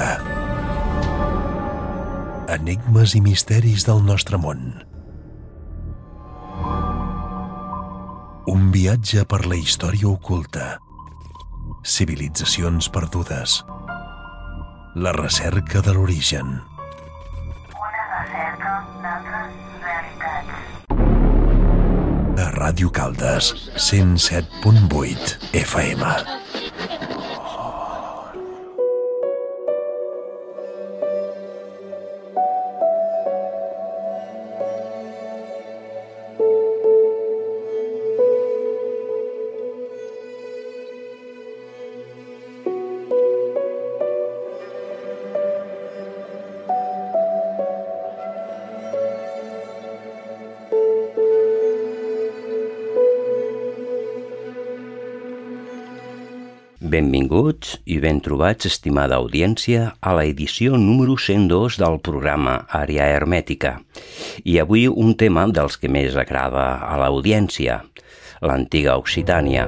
Ràdio-Canviadora. Enigmes i misteris del nostre món. Un viatge per la història oculta. Civilitzacions perdudes. La recerca de l'origen. Una recerca d'altres realitats. A Ràdio Caldes, 107.8 FM. Benvinguts i ben trobats, estimada audiència, a l'edició número 102 del programa Àrea Hermètica. I avui un tema dels que més agrada a l'audiència, l'antiga Occitània.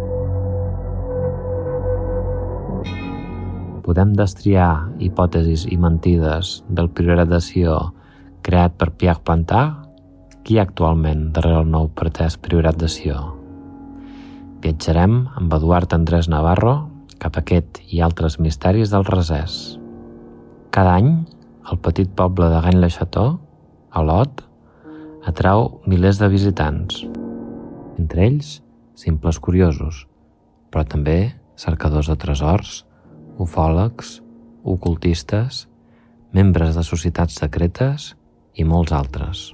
Podem destriar hipòtesis i mentides del Priorat de Sió creat per Pierre Plantard? Qui hi ha actualment darrere el nou pretès Priorat de Sió? Viatjarem amb Eduard Andrés Navarro cap a aquest i altres misteris del Rasès. Cada any, el petit poble de Rennes-le-Château, a Lot, atrau milers de visitants. Entre ells, simples curiosos, però també cercadors de tresors, ufòlegs, ocultistes, membres de societats secretes i molts altres.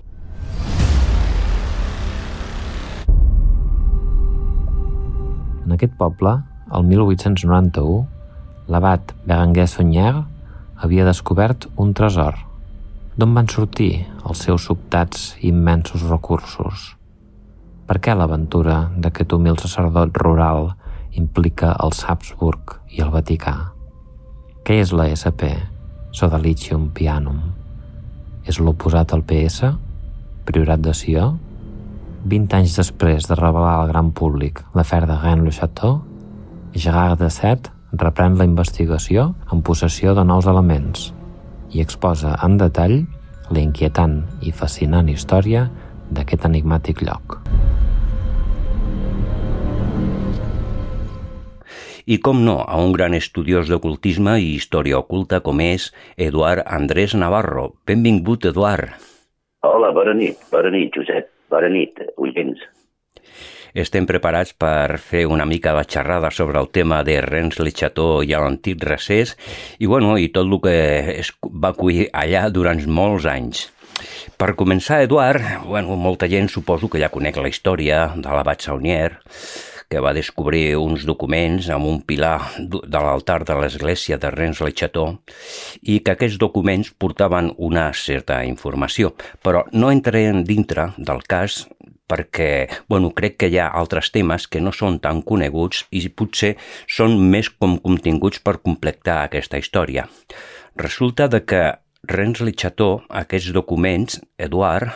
En aquest poble, el 1891, l'abat Berenguer Saunier havia descobert un tresor. D'on van sortir els seus sobtats i immensos recursos? Per què l'aventura d'aquest humil sacerdot rural implica els Habsburg i el Vaticà? Què és la SP, Sodalicium Pianum? És l'oposat al PS, Priorat de Sió? 20 anys després de revelar al gran públic l'afer de Rennes-le-Château, Gérard Dasset reprèn la investigació en possessió de nous elements i exposa en detall la inquietant i fascinant història d'aquest enigmàtic lloc. I com no, a un gran estudiós d'ocultisme i història oculta com és Eduard Andrés Navarro. Benvingut, Eduard. Hola, bona nit, Josep. Bona nit, oients. Estem preparats per fer una mica de xerrada sobre el tema de Rennes-le-Château i l'antic Rasès i tot el que es va cuir allà durant molts anys. Per començar, Eduard, molta gent suposo que ja conec la història de l'abat Saunier, que va descobrir uns documents amb un pilar de l'altar de l'església de Rennes-le-Château i que aquests documents portaven una certa informació, però no entrarem dintre del cas perquè, crec que hi ha altres temes que no són tan coneguts i potser són més com continguts per completar aquesta història. Resulta que Rennes-le-Château, aquests documents, Eduard,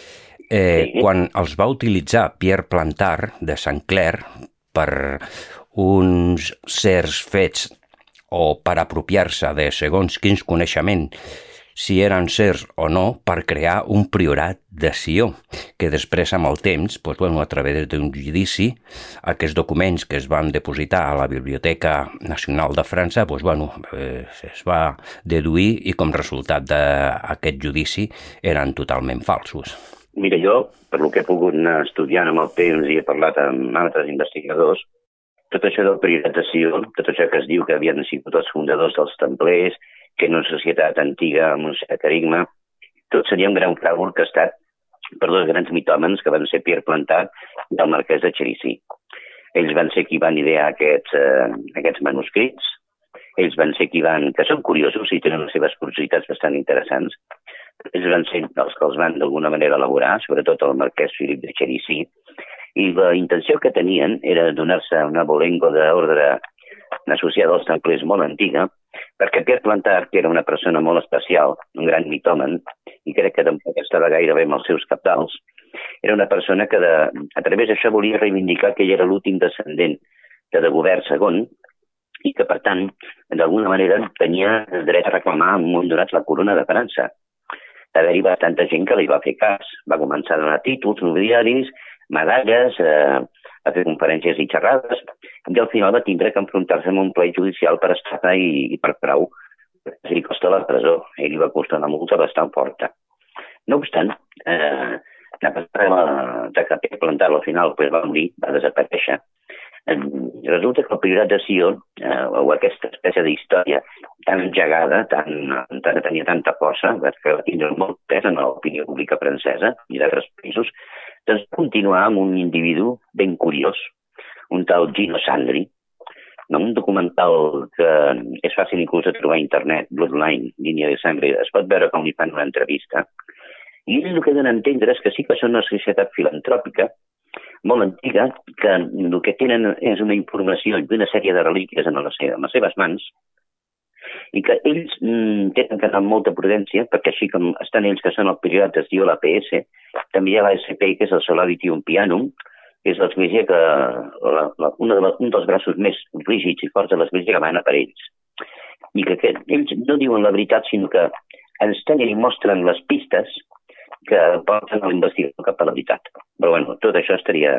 quan els va utilitzar Pierre Plantard de Saint-Clair per uns certs fets o per apropiar-se de segons quins coneixements, si eren certs o no, per crear un priorat de Sió, que després amb el temps, a través d'un judici, aquests documents que es van depositar a la Biblioteca Nacional de França, es va deduir i com resultat d'aquest judici eren totalment falsos. Mira, jo, per lo que he pogut anar estudiant amb el temps i he parlat amb altres investigadors, tot això del Priorat de Sió, tot això que es diu que havien sigut els fundadors dels templers, que era una societat antiga amb un cert carisma, tot seria un gran frau orquestat per dos grans mitòmens que van ser Pierre Plantard i el marquès de Cherisy. Ells van ser qui van idear aquests manuscrits, ells van ser qui que són curiosos i tenen les seves curiositats bastant interessants. Ells van ser els que els van d'alguna manera elaborar, sobretot el marquès Philippe de Cherisy, i la intenció que tenien era donar-se una abolengo d'ordre associada als templers molt antiga, perquè Pierre Plantard, que era una persona molt especial, un gran mitòman, i crec que tampoc estava gairebé amb els seus cabdals, era una persona que a través d'això volia reivindicar que ell era l'últim descendent de Dagobert II, i que, per tant, d'alguna manera tenia dret a reclamar en un moment donat la corona de França. Va haver-hi bastanta gent que li va fer cas. Va començar a donar títols nobiliaris, medalles, a fer conferències i xerrades, i al final va tindre que enfrontar-se amb un ple judicial per estafa i per frau. Li costa la presó, i li va costar una multa bastant forta. No obstant, la passada de Capell Plantar al final va morir, va desaparèixer. Resulta que el Priorat de Sió, o aquesta espècie d'història tan engegada, tenia tanta força, que va tindre molt pes en l'opinió pública francesa i d'altres països, doncs continuar amb un individu ben curiós, un tal Gino Sandri, un documental que és fàcil inclús de trobar a internet, Bloodline, línia de sangre, es pot veure com li fan una entrevista, i el que donen a entendre és que sí que són una societat filantròpica, molt antiga, que el que tenen és una informació i una sèrie de relíquies en les seves mans, i que ells tenen que anar amb molta prudència, perquè així com estan ells que són el Priorat de Sió, la PS, també hi ha l'ASP, que és el Solidarium Pianum, que és l'església que un dels braços més rígids i forts de l'església que mana per ells. I que ells no diuen la veritat, sinó que ens tenen i mostren les pistes que porten a l'investigador cap a la veritat. Però bueno, tot això estaria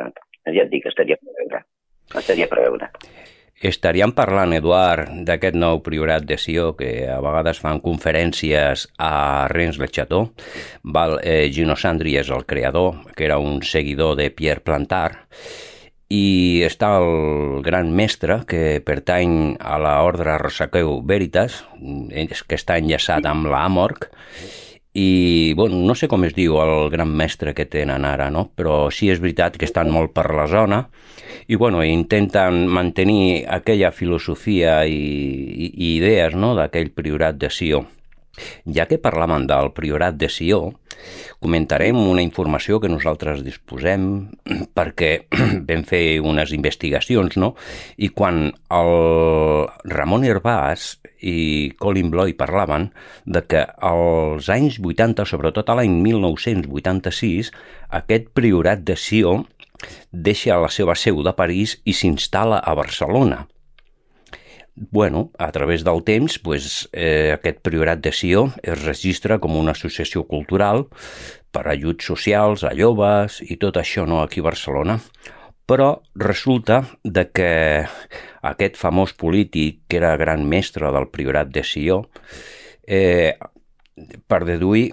per veure. Estaríem parlant, Eduard, d'aquest nou Priorat de Sió, que a vegades fan conferències a Rennes-le-Château. Gino Sandri és el creador, que era un seguidor de Pierre Plantard, i està el gran mestre, que pertany a l'ordre Rosaqueu Veritas, que està enllaçat amb l'Amorc, i bueno, no sé com es diu el gran mestre que tenen ara, no? Però sí és veritat que estan molt per la zona i bueno, intenten mantenir aquella filosofia i idees, no?, d'aquell Priorat de Sió. Ja que parlàvem del Priorat de Sió, comentarem una informació que nosaltres disposem perquè vam fer unes investigacions, no? I quan el Ramon Herbàs i Colin Bloy parlaven de que als anys 80, sobretot a l'any 1986, aquest Priorat de Sió deixa la seva seu de París i s'instal·la a Barcelona. Bueno, a través del temps, aquest Priorat de Sió es registra com una associació cultural per ajuts socials a joves i tot això, no?, aquí a Barcelona. Però resulta de que aquest famós polític, que era gran mestre del Priorat de Sió, per deduir,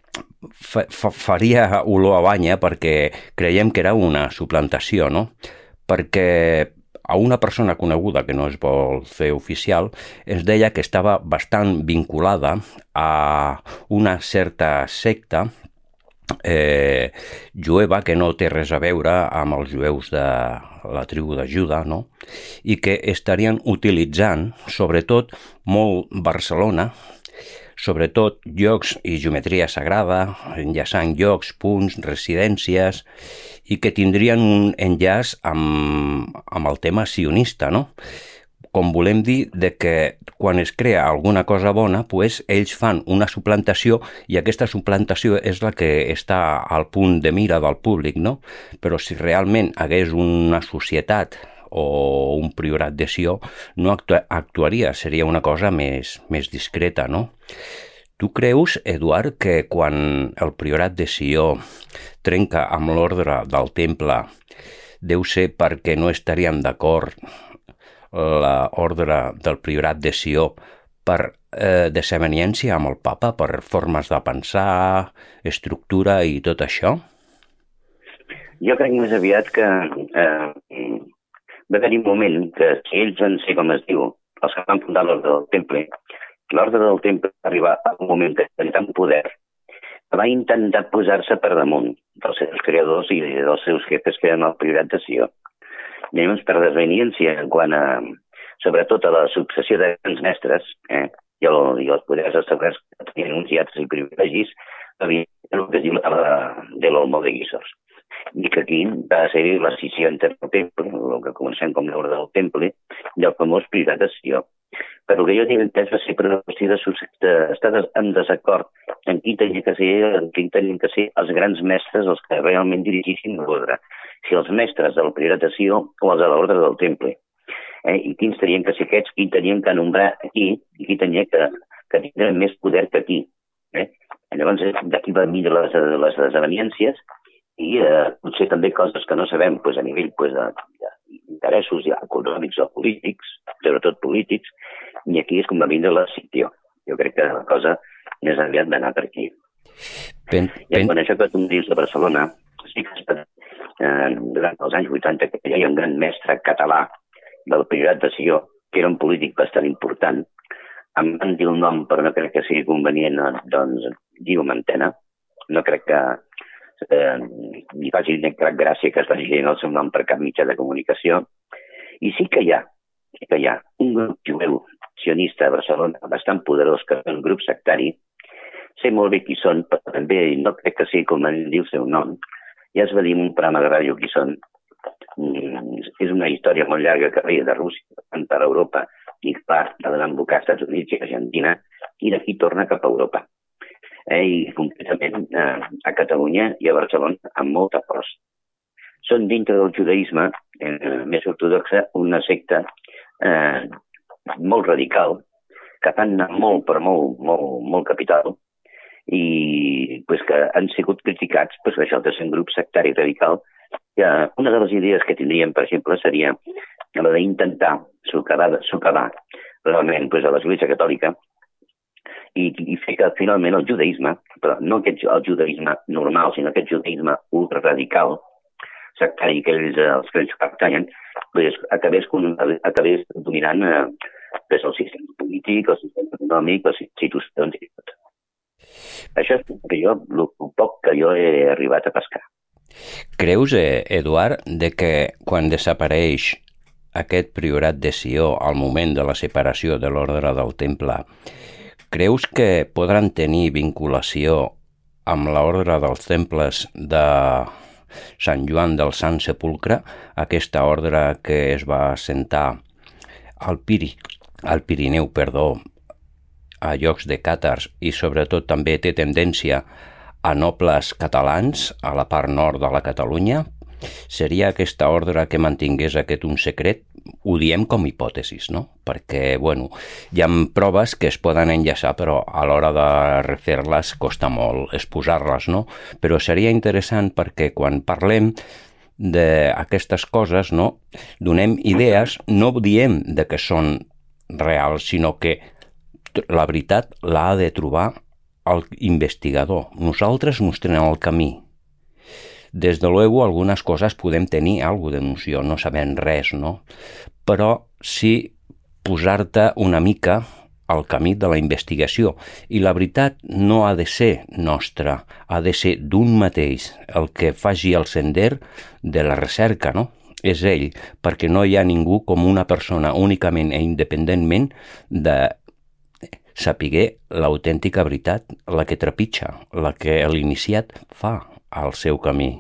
faria olor a banya perquè creiem que era una suplantació, no? Perquè a una persona coneguda, que no es vol fer oficial, ens deia que estava bastant vinculada a una certa secta jueva que no té res a veure amb els jueus de la tribu de Juda, no? I que estarien utilitzant, sobretot, molt Barcelona, sobretot llocs i geometria sagrada, enllaçant llocs, punts, residències, i que tindrien un enllaç amb el tema sionista, no? Com volem dir de que quan es crea alguna cosa bona, ells fan una suplantació i aquesta suplantació és la que està al punt de mira del públic, no? Però si realment hagués una societat o un Priorat de Sió, no actuaria, seria una cosa més discreta, no? Tu creus, Eduard, que quan el Priorat de Sió trenca amb l'ordre del temple deu ser perquè no estarien d'acord l'ordre del Priorat de Sió per desavenència amb el papa, per formes de pensar, estructura i tot això? Jo crec més aviat que va haver-hi un moment que ells van ser, com es diu, els que van fundar l'ordre del temple. L'ordre del temple va arribar a un moment que tenia tant poder que va intentar posar-se per damunt dels seus creadors i dels seus jefes que eren el Priorat de Sió. Llavors, per desveniència, en quant a, sobretot a la successió de grans mestres i els poders establerts que tenien uns hiatres i privilegis, havia el que es diu la taula de l'Olmo de Guíxols. I que aquí va ser la scissió entre el temple, el que comencem com l'ordre del temple, i el famós Priorat de Sió. Però el que jo tinc entès va ser per una qüestió d'estar en desacord en qui tenien que ser els grans mestres els que realment dirigissin l'ordre, si els mestres del Priorat de Sió o els de l'ordre del temple. I quins tenien que ser aquests, qui tenien que nombrar aquí, i qui tenia que tindre més poder que aquí. Llavors, d'aquí va venir les desavenències i potser també coses que no sabem a nivell d'interessos econòmics o polítics, sobretot polítics, i aquí és com va vindre la scissió. Jo crec que la cosa més aviat va anar per aquí. I quan això que tu em dius de Barcelona, sí que durant els anys 80 que hi havia un gran mestre català del Priorat de Sió, que era un polític bastant important, em van dir el nom, però no crec que sigui convenient, doncs diu en antena. No crec que li faci cap gràcia que es vagi dient el seu nom per cap mitjà de comunicació. I sí que hi ha un grup jueu sionista a Barcelona bastant poderós, que és un grup sectari. Sé molt bé qui són, però també no crec que sigui convenient dir el seu nom. Ja es va dir en un programa de ràdio qui són. És una història molt llarga que veia de Rússia, per Europa, i clar, de donar embocar als Estats Units i Argentina, i d'aquí torna cap a Europa. I concretament a Catalunya i a Barcelona amb molta força. Són dintre del judaïsme més ortodoxa una secta molt radical, que fan molt per molt capital, i que han sigut criticats per això de ser un grup sectari radical. Una de les idees que tindríem, per exemple, seria la d'intentar socavar realment a l'Església Catòlica i fer que finalment el judaïsme, però no el judaïsme normal, sinó aquest judaïsme ultraradical, sectari que els que ells pertanyen, acabés dominant el sistema polític, el sistema econòmic, les institucions i tot. Això és el poc que jo he arribat a pescar. Creus, Eduard, que quan desapareix aquest priorat de Sió al moment de la separació de l'ordre del Temple, creus que podran tenir vinculació amb l'ordre dels temples de Sant Joan del Sant Sepulcre, aquesta ordre que es va assentar al Pirineu, a llocs de càtars, i sobretot també té tendència a nobles catalans a la part nord de la Catalunya? Seria aquesta ordre que mantingués un secret? Ho diem com a hipòtesis, no? Perquè, hi ha proves que es poden enllaçar, però a l'hora de refer-les costa molt exposar-les, no? Però seria interessant perquè quan parlem d'aquestes coses, no, donem idees, no diem que són reals, sinó que la veritat l'ha de trobar el investigador. Nosaltres mostrem el camí. Des de luego, algunes coses podem tenir alguna de noció, no sabem res, no? Però sí posar-te una mica al camí de la investigació. I la veritat no ha de ser nostra, ha de ser d'un mateix, el que faci el sender de la recerca, no? És ell, perquè no hi ha ningú com una persona únicament i independentment de sapiguer l'autèntica veritat, la que trepitja, la que l'iniciat fa al seu camí.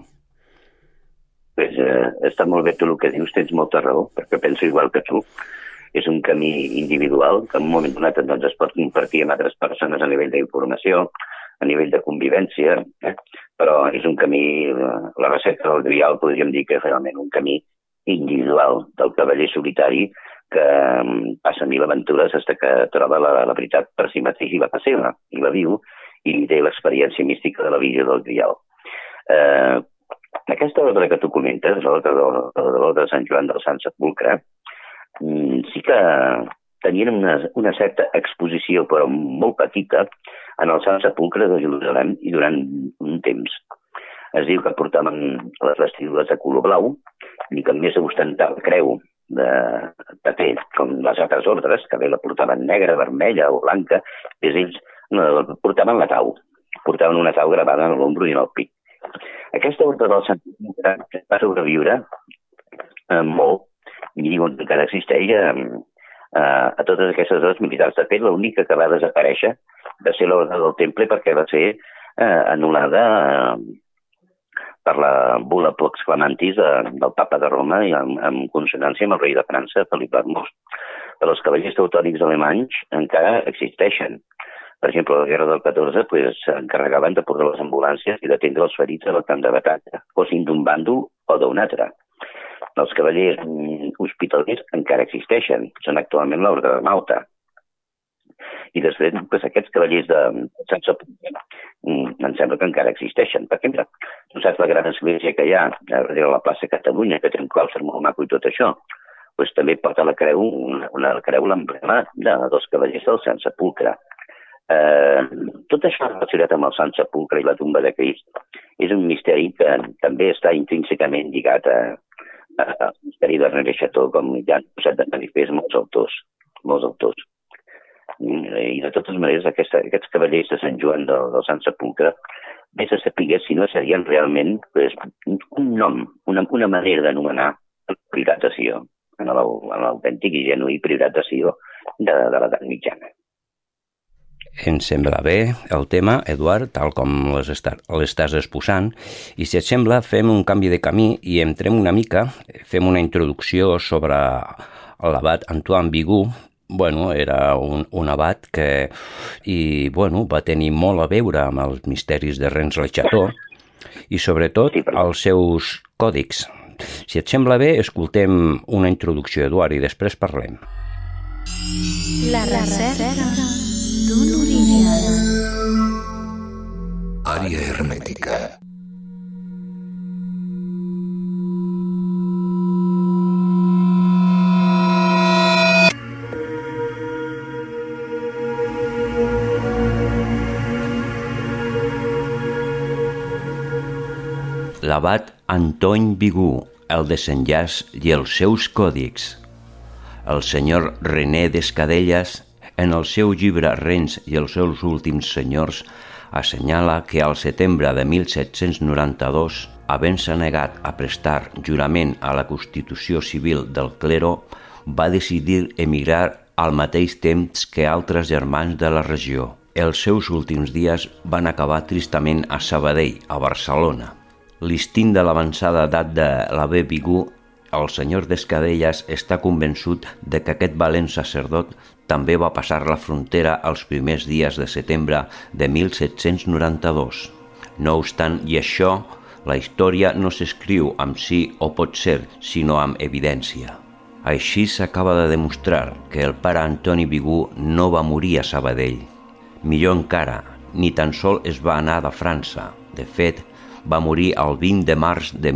Està molt bé tu el que dius, tens molta raó, perquè penso igual que tu. És un camí individual que en un moment donat es pot compartir amb altres persones a nivell d'informació, a nivell de convivència, però és un camí, la recerca del Grial podríem dir que és realment un camí individual del cavaller solitari que passa mil aventures fins que troba la veritat per si mateix i la passeva, i la viu, i té l'experiència mística de la visió del Grial. Aquesta ordre que tu comentes, l'ordre de Sant Joan del Sant Sepulcre, sí que tenien una certa exposició, però molt petita, en el Sant Sepulcre de Jerusalem i durant un temps. Es diu que portaven les vestidures de color blau i que més ostentava creu de paper, com les altres ordres, que bé la portaven negra, vermella o blanca, ells portaven la tau. Portaven una tau gravada en l'ombro i en el pit. Aquesta ordre del Sant Sepulcre va sobreviure molt, i diuen que encara existeix a totes aquestes hores militars. De fet, l'única que va desaparèixer va ser l'ordre del Temple perquè va ser anul·lada per la bula Pax Clamantis del papa de Roma i en consonància amb el rei de França, Felip l'Hermós. Però els cavallers teutònics alemanys encara existeixen. Per exemple, a la guerra del 14 s'encarregaven de portar les ambulàncies i d'atendre els ferits al camp de batalla, fossin d'un bàndol o d'un altre. Els cavallers hospitalers encara existeixen. Són actualment l'Orde de Malta. I després, doncs, aquests cavallers de Sant Sepulcre em sembla que encara existeixen. Perquè, mira, tu saps la gran església que hi ha darrere la plaça Catalunya, que té un claustre molt maco i tot això, doncs també porta la creu, l'emblema dels cavallers del Sant Sepulcre. Tot això relacionat amb el Sant Sepulcre i la tomba de Crist és un misteri que també està intrínsecament lligat al misteri de Rennes le Chateau, com ja han posat de manifest molts autors. I de totes maneres aquests cavallers de Sant Joan del Sant Sepulcre, vés a saber si no serien realment un nom, una manera d'anomenar el Priorat de Sió, en l'autèntic i genuí Priorat de Sió de l'edat mitjana. Ens sembla bé el tema, Eduard, tal com l'estàs exposant, i si et sembla fem un canvi de camí i entrem una mica, fem una introducció sobre l'abat Antoine Bigot. Era un abat que va tenir molt a veure amb els misteris de Rennes le Chateau i sobretot els seus còdics. Si et sembla bé, escoltem una introducció, Eduard, i després parlem. La recerca d'un origen. Àrea hermètica. L'abat Antoine Bigot, el desenllaç i els seus còdics. El senyor René Descadellas, en el seu llibre Rennes i els seus últims senyors, assenyala que al setembre de 1792, havent-se negat a prestar jurament a la Constitució Civil del clero, va decidir emigrar al mateix temps que altres germans de la regió. Els seus últims dies van acabar tristament a Sabadell, a Barcelona. L'istint de l'avançada edat de l'abbé Bigot, el senyor Descadellas està convençut de que aquest valent sacerdot també va passar la frontera els primers dies de setembre de 1792. No obstant i això, la història no s'escriu amb sí o pot ser, sinó amb evidència. Així s'acaba de demostrar que el pare Antoni Bigot no va morir a Sabadell. Millor encara, ni tan sol es va anar de França. De fet, va morir el 20 de març de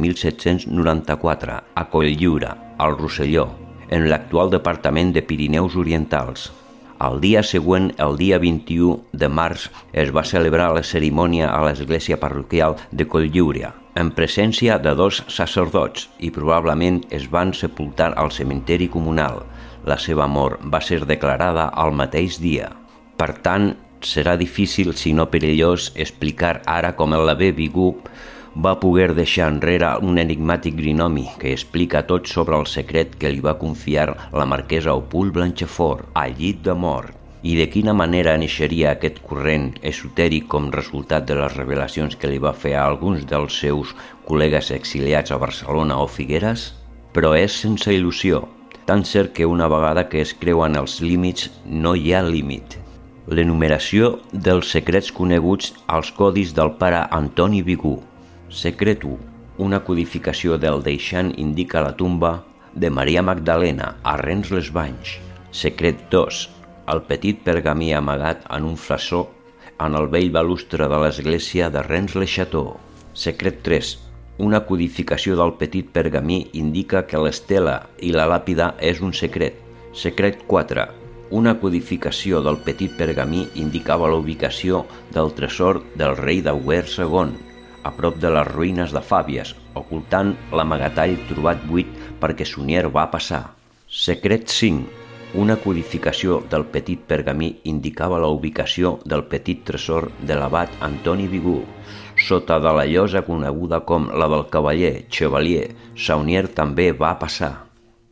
1794 a Cotlliure, al Rosselló, en l'actual departament de Pirineus Orientals. Al dia següent, el dia 21 de març, es va celebrar la cerimònia a l'església parroquial de Cotlliure, en presència de 2 sacerdots, i probablement es van sepultar al cementeri comunal. La seva mort va ser declarada al mateix dia. Per tant, serà difícil, si no perillós, explicar ara com l'abbé Bigot va poder deixar enrere un enigmàtic grinomi que explica tot sobre el secret que li va confiar la marquesa Opul Blanchefort al llit de mort, i de quina manera neixeria aquest corrent esotèric com resultat de les revelacions que li va fer a alguns dels seus col·legues exiliats a Barcelona o Figueres? Però és sense il·lusió, tan cert que una vegada que es creuen els límits no hi ha límit. L'enumeració dels secrets coneguts als codis del pare Antoni Bigot. Secret 1. Una codificació del deixant indica la tomba de Maria Magdalena a Rennes-les-Banys. Secret 2. El petit pergamí amagat en un flaçó en el vell balustre de l'església de Rennes-le-Chateau. Secret 3. Una codificació del petit pergamí indica que l'estela i la làpida és un secret. Secret 4. Una codificació del petit pergamí indicava la ubicació del tresor del rei d'Auguer II, a prop de les ruïnes de Fàbies, ocultant l'amagatall trobat buit perquè Sunyer va passar. Secret 5. Una codificació del petit pergamí indicava la ubicació del petit tresor de l'abat Antoni Bigot, sota de la llosa coneguda com la del cavaller Chevalier. Saunier també va passar.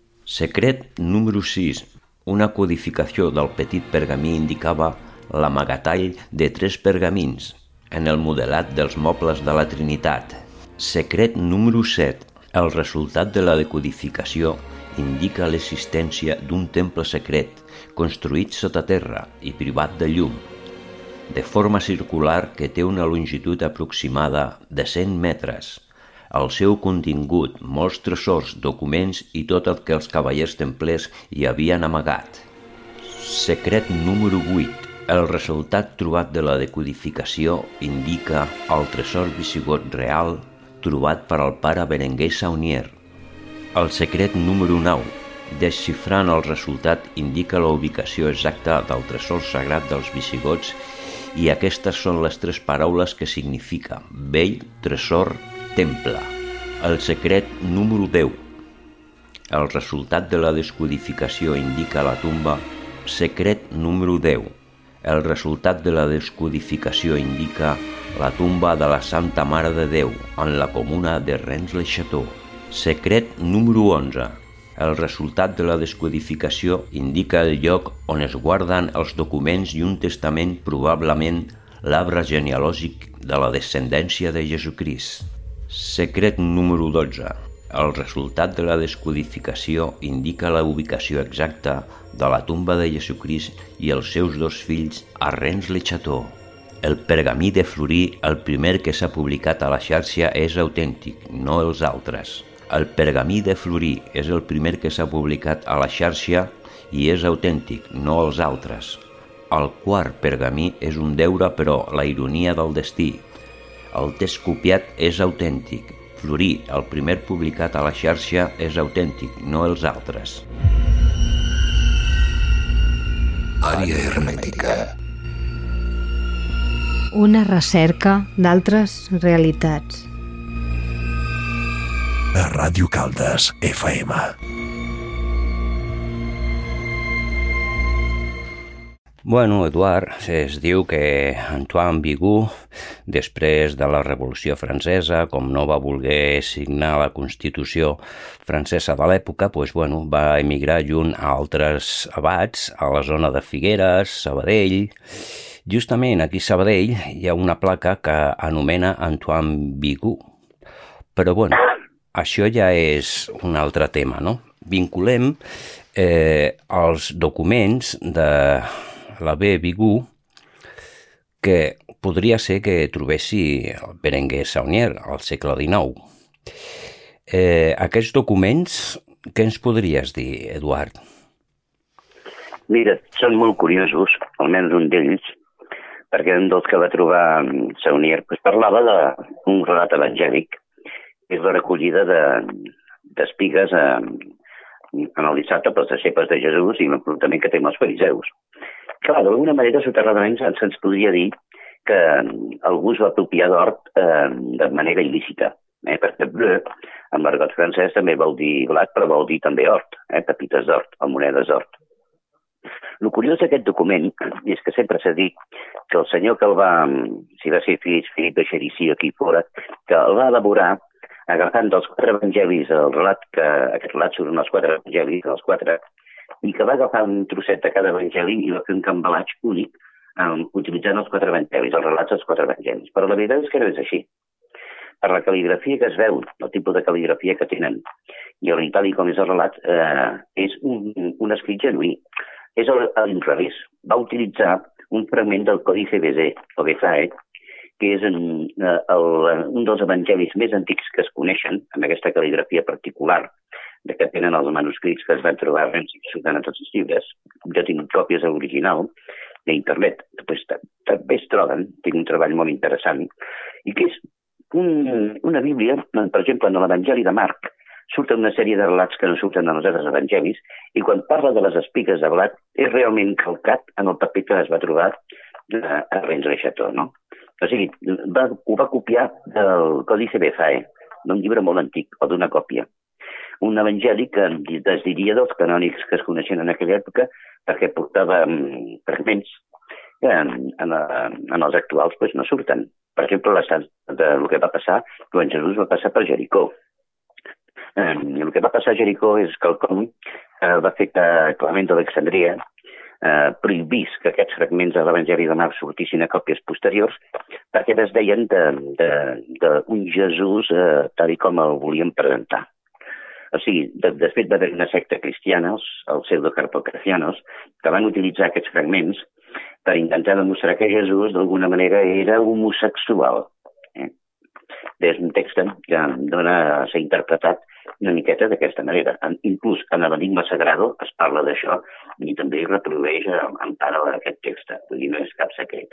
Secret número 6. Una codificació del petit pergamí indicava l'amagatall de 3 pergamins en el modelat dels mobles de la Trinitat. Secret número 7. El resultat de la decodificació indica l'existència d'un temple secret construït sota terra i privat de llum, de forma circular que té una longitud aproximada de 100 metres. El seu contingut, molts tresors, documents i tot el que els cavallers templers hi havien amagat. Secret número 8. El resultat trobat de la decodificació indica el tresor visigot real trobat per al pare Berenguer Saunier. El secret número 9. Desxifrant el resultat indica la ubicació exacta del tresor sagrat dels visigots i aquestes són les 3 paraules que significa vell, tresor, temple. El secret número 10. El resultat de la descodificació indica la tomba. Secret número 10. El resultat de la descodificació indica la tomba de la Santa Mare de Déu en la comuna de Rennes-le-Château. Secret número 11. El resultat de la descodificació indica el lloc on es guarden els documents i un testament, probablement l'arbre genealògic de la descendència de Jesucrist. Secret número 12. El resultat de la descodificació indica la ubicació exacta de la tomba de Jesucrist i els seus 2 fills a Rennes-le-Château. El pergamí de Fleury, el primer que s'ha publicat a la xarxa, és autèntic, no els altres. El pergamí de Fleury és el primer que s'ha publicat a la xarxa i és autèntic, no els altres. El quart pergamí és un deure, però la ironia del destí. El text copiat és autèntic. Fleury, el primer publicat a la xarxa, és autèntic, no els altres. Àrea hermètica. Una recerca d'altres realitats. A Ràdio Caldes, FM. Bueno, Eduard, es diu que Antoine Bigot, després de la Revolució Francesa, com no va voler signar la Constitució francesa de l'època, va emigrar junt a altres abats a la zona de Figueres, Sabadell. Justament aquí a Sabadell hi ha una placa que anomena Antoine Bigot. Però això ja és un altre tema, no? Vinculem els documents de l'abbé Bigot, que podria ser que trobessi el Berenguer Saunier al segle XIX. Aquests documents, què ens podries dir, Eduard? Mira, són molt curiosos, almenys un d'ells, perquè un dels que va trobar Saunier parlava d'un relat evangèlic, que és la recollida d'espigues en el dissabte pels deixebles de Jesús i l'enfrontament que té amb els fariseus. Clar, d'alguna manera, soterradament se'ns podria dir que algú es va apropiar d'hort de manera il·lícita, perquè bleu, en l'argot francès, també vol dir blat, però vol dir també hort, pepites d'hort, o monedes d'hort. El curiós d'aquest document és que sempre s'ha dit que el senyor que el va, si va ser Philippe de Chérizy aquí fora, que el va elaborar agafant dels 4 evangelis el relat, que aquest relat surten els 4 evangelis, els 4, i que va agafar un trosset de cada evangeli i va fer un cambalatge únic utilitzant els 4 evangelis, els relats dels 4 evangelis. Però la veritat és que no és així. Per la cal·ligrafia que es veu, el tipus de cal·ligrafia que tenen, i tal com és el relat, és un escrit genuí. És a l'inrevés. Va utilitzar un fragment del Códice Bézé, o Bezae, que és un dels evangelis més antics que es coneixen, amb aquesta cal·ligrafia particular, que tenen els manuscrits que es van trobar a tots els llibres. Jo tinc còpies a l'original d'internet, també es troben, tinc un treball molt interessant, i que és una bíblia, per exemple, en l'Evangeli de Marc, surten una sèrie de relats que no surten en els altres evangelis, i quan parla de les espigues de blat, és realment calcat en el paper que es va trobar a Rennes-le-Château, no? O sigui, ho va copiar del Códice Bézae, d'un llibre molt antic, o d'una còpia. Un evangeli que es diria dels canònics que es coneixen en aquella època, perquè portava fragments que en els actuals no surten. Per exemple, el que va passar quan Jesús va passar per Jericó. El que va passar a Jericó és quelcom que va fer que Clement d'Alexandria prohibís que aquests fragments de l'Evangeli de Marc sortissin a còpies posteriors perquè es deien d'un Jesús tal com el volien presentar. O sigui, de fet va haver una secta cristiana, els pseudocarpografianos, que van utilitzar aquests fragments per intentar demostrar que Jesús d'alguna manera era homosexual. És un text que dona a ser interpretat una miqueta d'aquesta manera. Inclús en l'Enigma Sagrado es parla d'això i també reprodueix en part aquest text. Vull dir, no és cap secret.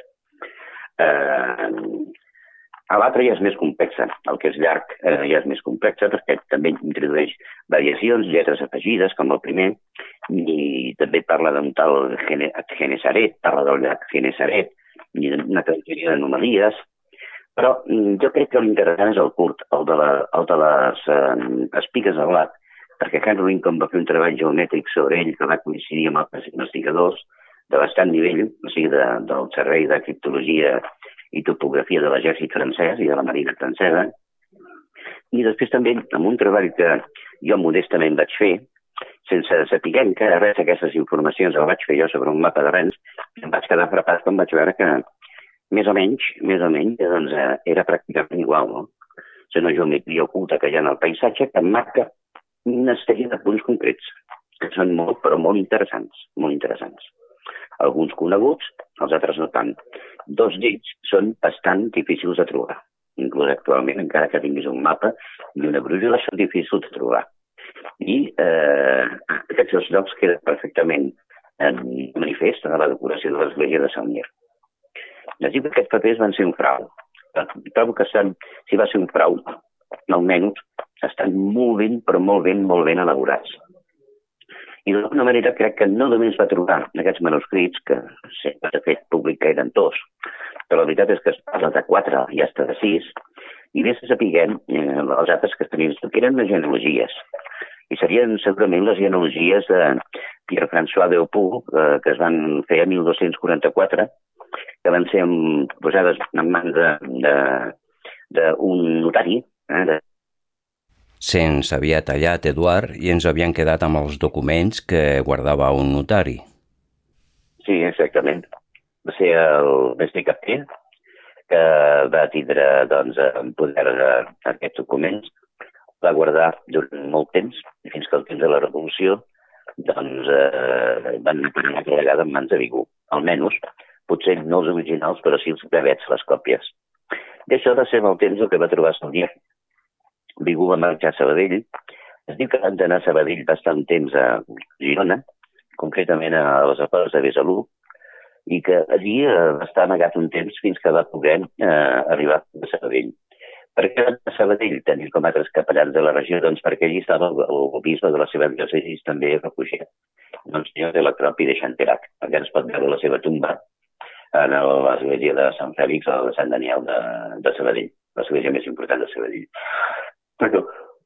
L'altre ja és més complexa. El que és llarg ja és més complexa perquè també introdueix variacions, lletres afegides, com el primer, i també parla d'un tal Genesaret, parla del llac Genesaret, i una sèrie d'anomalies. Però jo crec que l'interessant és el curt, el de les espigues al blat, perquè Henry Lincoln va fer un treball geomètric sobre ell que va coincidir amb altres investigadors de bastant nivell, o sigui, del Servei de Criptologia i Topografia de l'Exèrcit francès i de la Marina francesa. I després també, amb un treball que jo modestament vaig fer, sense saber encara res d'aquestes informacions, el vaig fer jo sobre un mapa de Rennes, em vaig quedar frapat quan vaig veure que més o menys, doncs, era pràcticament igual, no? És una geometria oculta que hi ha en el paisatge que marca una sèrie de punts concrets, que són molt, però molt interessants, molt interessants. Alguns coneguts, els altres no tant. Dos d'ells són bastant difícils de trobar. Inclús actualment, encara que tinguis un mapa i una brúixola, són difícils de trobar. I aquests dos llocs queden perfectament en manifest a la decoració de l'església de Sant Mir. Es diu que aquests papers van ser un frau. Trobo que si va ser un frau, almenys estan molt ben, però molt ben elaborats. I d'alguna manera crec que no només va trobar aquests manuscrits, que sempre s'ha fet públic que eren 2, però la veritat és que es parla de 4 i hasta de 6, i més que sapiguem els altres que tenien, que eren les genealogies. I serien segurament les genealogies de Pierre-François d'Eupoul, que es van fer a 1244, que van ser posades en mans d'un notari. Se'ns havia tallat, Eduard, i ens havien quedat amb els documents que guardava un notari. Sí, exactament. Va ser el mestre Capter que va tindre en poder aquests documents, va guardar durant molt temps, fins que al temps de la Revolució van anar cada vegada en mans de Vigou. Almenys, potser no els originals, però sí els brevets, les còpies. I això va ser amb el temps el que va trobar Saunier. Vigou va marxar a Sabadell. Es diu que van anar a Sabadell bastant temps a Girona, concretament a les afores de Besalú, i que allí va estar amagat un temps fins que va poder arribar a Sabadell. Per què va a Sabadell tenir com altres capellans de la regió? Doncs perquè allí estava el bisbe de la seva diòcesi també refugiat, Monsenyor de la Croix i de Chanterac. Aquí es pot veure la seva tomba en l'església de Sant Fèlix o de Sant Daniel de Sabadell, l'església més important de Sabadell. Però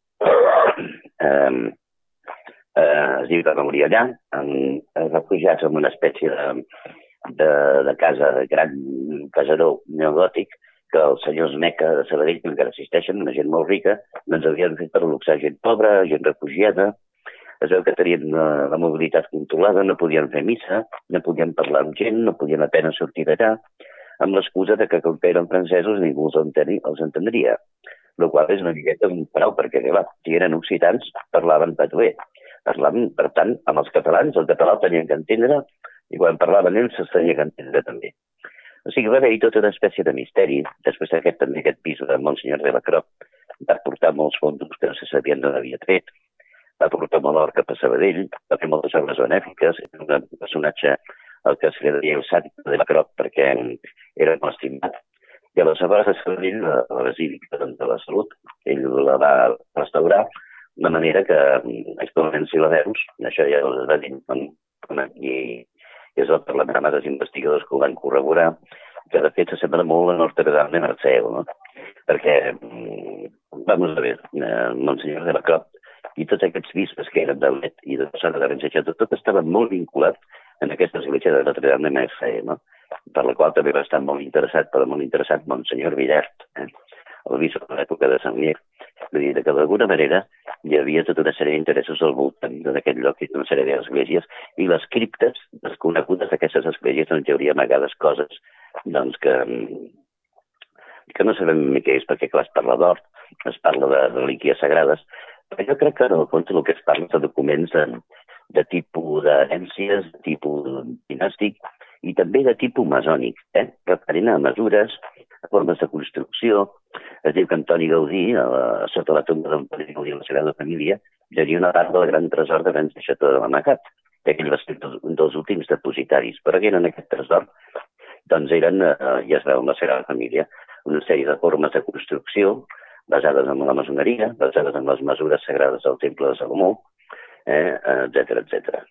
es diu que va morir allà, refugiats en una espècie de casa, de gran caseró neogòtic, que els senyors Meca de Sabadell, que encara existeixen, una gent molt rica, doncs havien fet per luxar gent pobra, gent refugiada. Es veu que tenien la mobilitat controlada, no podien fer missa, no podien parlar amb gent, no podien apenas sortir d'allà, amb l'excusa que com que eren francesos ningú els entendria. El qual és una miqueta un frau, perquè clar, si eren occitans parlaven patuer. Parlaven, per tant, amb els catalans, el català el tenien que entendre, i quan parlaven ells se'ls tenia que entendre també. O sigui, va haver-hi tota una espècie de misteri. Després aquest bisbe de Monsenyor de la Croix va portar molts fons que no se sabien d'on havia tret, va portar molt or cap a Sabadell, va fer moltes obres benèfiques, era un personatge al que se li deia el sàdic de la Croix perquè era molt estimat. I aleshores a Sabadell, la Basílica de la Salut, ell la va restaurar de manera que actualment si la veus, això ja els va dir, i és el Parlament amb altres investigadors que ho van corroborar, que de fet s'assembla molt a Notre Dame de Marseille, no? Perquè, vamos a ver, Monsenyor de la Croix i tots aquests bisbes que eren de Let i de Sala de Rennes, tot estava molt vinculat en aquesta església de Notre Dame de Marseille, no? Per la qual també va estar molt interessat Monsenyor Villert, el bisbe de l'època de Sant Mier. Vull dir que d'alguna manera hi havia tota una sèrie d'interessos al voltant d'aquest lloc i una sèrie d'esglésies, i les criptes desconegudes d'aquestes esglésies on hi hauria amagades coses que no sabem què és, perquè clar, es parla d'or, es parla de relíquies sagrades, però jo crec que en el fons el que es parla de documents de tipus d'herències, de tipus dinàstic i també de tipus masònic, referent a mesures, a formes de construcció, Es diu que Antoni Gaudí, sota la tomba d'Antoni Gaudí i la Sagrada Família, hi havia una part del gran tresor de Rennes de Chateau de l'Amagat, que ell va ser un dels últims depositaris. Però què eren aquest tresor? Doncs eren, ja es veu en la Sagrada Família, una sèrie de formes de construcció basades en la maçoneria, basades en les mesures sagrades del Temple de Salomó, etcètera, etcètera.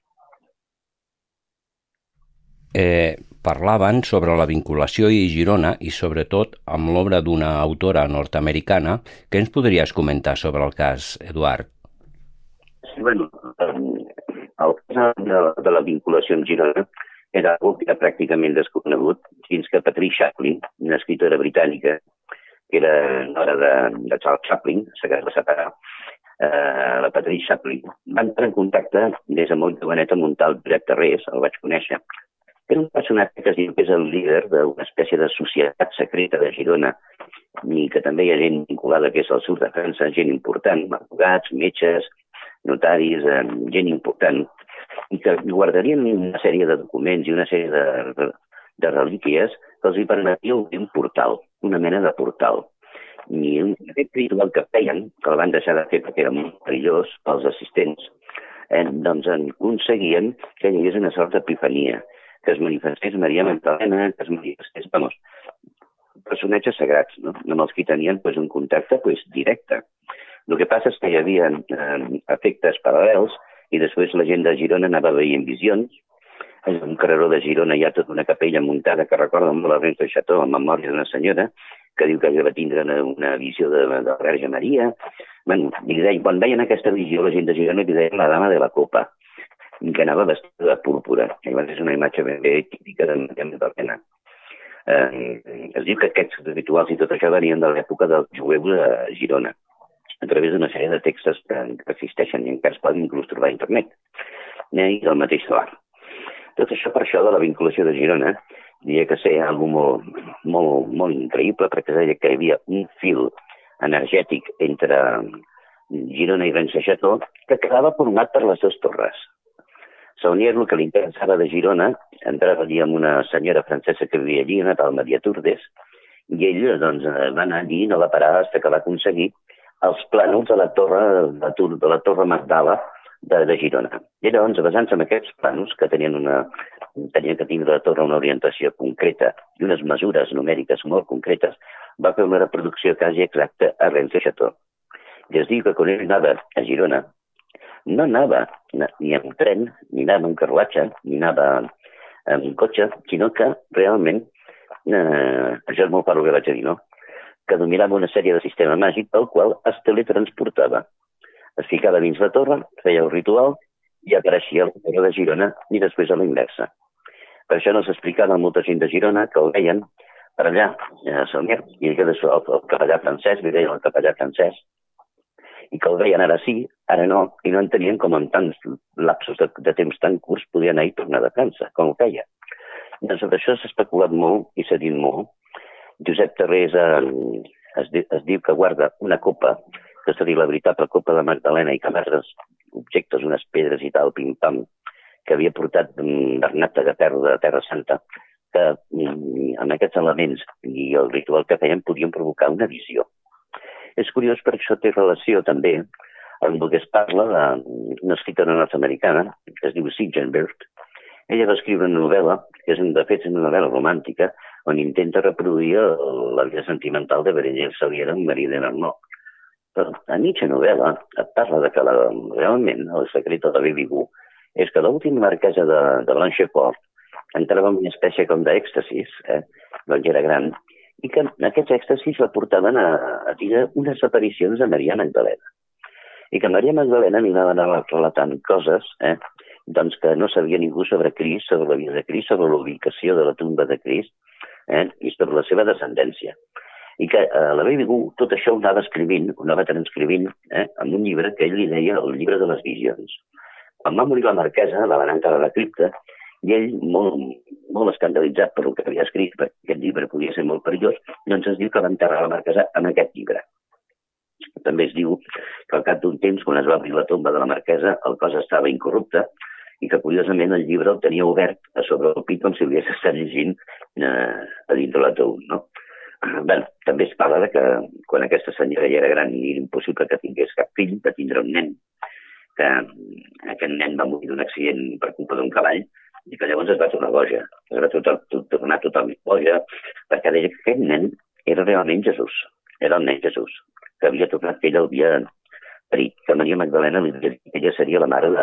Parlaven sobre la vinculació a Girona i sobretot amb l'obra d'una autora nord-americana. Què ens podries comentar sobre el cas, Eduard? Sí, bueno, el cas de la vinculació amb Girona era algo que era pràcticament desconegut fins que Patricia Chaplin, una escriptora britànica, que era nora de Charles Chaplin, se va separar, la Patricia Chaplin, va entrar en contacte des de molt jovenet amb un tal Josep Tarrés, el vaig conèixer. Era un personatge que es diu que és el líder d'una espècie de societat secreta de Girona i que també hi ha gent vinculada que és al sud de França, gent important, advocats, metges, notaris, gent important, i que guardarien una sèrie de documents i una sèrie de relíquies que els hi permetia obrir un portal, una mena de portal. I aquest ritual que feien, que el van deixar de fer perquè era molt perillós pels assistents, doncs aconseguien que hi hagués una sort d'epifania, que es manifestés Maria Magdalena, que es manifestés, personatges sagrats, no? Amb els que tenien un contacte directe. El que passa és que hi havia efectes paral·lels i després la gent de Girona anava veient visions. En un carreró de Girona hi ha tota una capella muntada que recorda molt a Rennes de Chateau en memòria d'una senyora que diu que va tindre una visió de la Verge Maria. Quan veien aquesta visió, la gent de Girona li deien la dama de la copa, que anava vestida de púrpura. És una imatge ben bé típica de Maria Magdalena. Es diu que aquests rituals i tot això venien de l'època dels jueus a Girona, a través d'una sèrie de textos que existeixen i encara es poden inclús trobar a internet, i del mateix solar. Tot això per això de la vinculació de Girona, diria que ser algo molt increïble, perquè deia que hi havia un fil energètic entre Girona i Rennes de Chateau que quedava format per les dues torres. Saunier, el que li interessava de Girona, entrava allí amb una senyora francesa que vivia allí, una tal Maria Turdes, i ell va anar allí i no va parar fins que va aconseguir els plànols de la torre Magdala de Girona. I llavors, basant-se en aquests plànols, que tenia que tindre la torre una orientació concreta i unes mesures numèriques molt concretes, va fer una reproducció quasi exacta a Rennes de Chateau. I es diu que quan ell anava a Girona, no anava ni amb tren, ni anava amb carruatge, ni anava amb cotxe, sinó que realment, això és molt fort el que vaig a dir, no? Que dominava una sèrie de sistema màgic pel qual es teletransportava. Es ficava dins la torre, feia el ritual i apareixia a la torre de Girona i després a la inversa. Per això no s'explicava a molta gent de Girona que el veien per allà, a Saunier, i que el capellà francès, li deien el capellà francès, i que el veien ara sí, ara no, i no entenien com en tants lapsos de temps tan curts podia anar i tornar de França, com ho feia. Doncs sobre això s'ha especulat molt i s'ha dit molt. Josep Tarrés es diu que guarda una copa, que seria la veritable copa de Magdalena, i que amb altres objectes, unes pedres i tal, pim-pam, que havia portat Bernat de Terra Santa, que amb aquests elements i el ritual que feien podien provocar una visió. És curiós perquè això té relació també amb el que es parla d'una escriptora nord-americana que es diu Signe Bird. Ella va escriure una novel·la, que de fet és una novel·la romàntica, on intenta reproduir la vida sentimental de Berenguer Saliera amb Marie de Narnot. Però a mitja novel·la et parla de que realment el secret de la Baby Goo és que l'última marquesa de Blanchefort entrava en una espècie com d'èxtasis, quan ja era gran, i que aquests èxtasis la portaven a dir unes aparicions de Maria Magdalena. I que Maria Magdalena anava relatant coses doncs que no sabia ningú sobre Crist, sobre la vida de Crist, sobre la ubicació de la tumba de Crist i sobre la seva descendència. I que la Baby Goo tot això ho anava escrivint, ho anava transcrivint en un llibre que ell li deia el llibre de les visions. Quan va morir la marquesa, la van enterrar a la cripta, i ell, molt escandalitzat per el que havia escrit, perquè aquest llibre podia ser molt perillós, doncs es diu que va enterrar la marquesa en aquest llibre. També es diu que al cap d'un temps, quan es va obrir la tomba de la marquesa, el cos estava incorrupte i que, curiosament, el llibre el tenia obert a sobre el pit com si hagués estat llegint a dins de l'ataúd, no? Bé, també es parla de que quan aquesta senyora ja era gran i era impossible que tingués cap fill, de tindre un nen, que aquest nen va morir d'un accident per culpa d'un cavall i que llavors es va tornar boja. Es va tornar totalment boja perquè deia que aquest nen era realment Jesús. Era el nen Jesús, que havia tornat, que ella havia parit, que Maria Magdalena li deia que ella seria la mare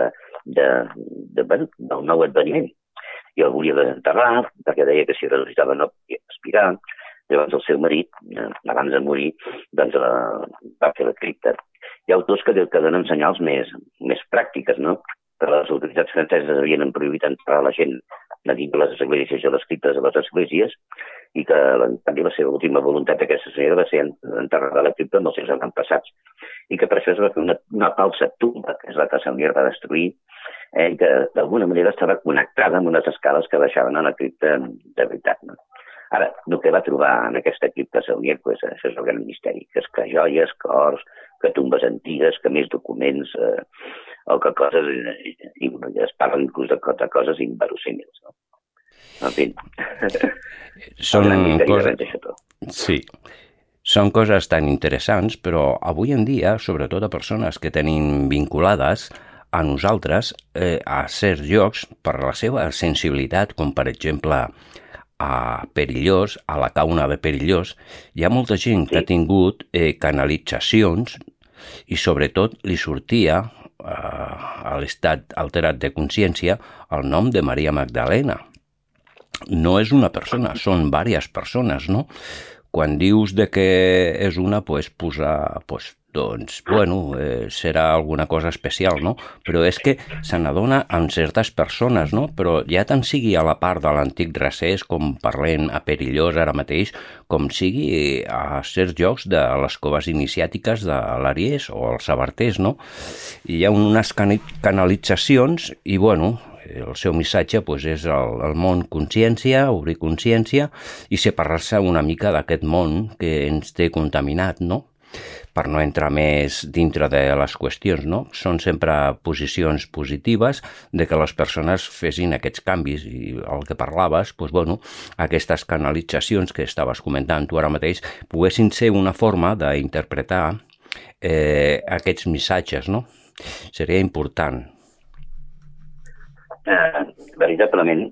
del nou adveniment. I el volia desenterrar, perquè deia que si ressuscitava no podia respirar. Llavors el seu marit, abans de morir, doncs va fer la cripta. Hi ha autors que donen senyals més pràctiques, no? Que les autoritats franceses havien prohibit enterrar la gent dins de les esglésies i les criptes de les esglésies i que també la seva última voluntat d'aquesta senyora va ser enterrada a la cripta amb els seus avantpassats. I que per això es va fer una falsa tumba, que és la que Saunier va destruir, i que d'alguna manera estava connectada amb unes escales que baixaven a la cripta de veritat, no? Ara, el que va trobar en aquesta cripta Saunier, pues, això és el gran misteri, que és que joies, que ors, que tombes antigues, que més documents, o que coses, es parlen inclús de coses inverosímils, no? En fi, Són sí, són coses tan interessants, però avui en dia, sobretot a persones que tenim vinculades a nosaltres, a certs llocs, per la seva sensibilitat, com per exemple a Perillós, a la Cauna de Perillós, hi ha molta gent que ha tingut canalitzacions i sobretot li sortia a l'estat alterat de consciència el nom de Maria Magdalena. No és una persona, són diverses persones, no? Quan dius de que és una, posar, doncs, bueno, serà alguna cosa especial, no? Però és que se n'adona amb certes persones, no? Però ja tant sigui a la part de l'antic Recés, com parlem a Perillós ara mateix, com sigui a certs llocs de les coves iniciàtiques de l'Ariès o els Sabarters, no? Hi ha unes canalitzacions i, bueno, el seu missatge és el món consciència, obrir consciència i separar-se una mica d'aquest món que ens té contaminat, no? Per no entrar més dintre de les qüestions, no? Són sempre posicions positives de que les persones fessin aquests canvis i el que parlaves, aquestes canalitzacions que estaves comentant tu ara mateix poguessin ser una forma d'interpretar aquests missatges, no? Seria important. Veritablement,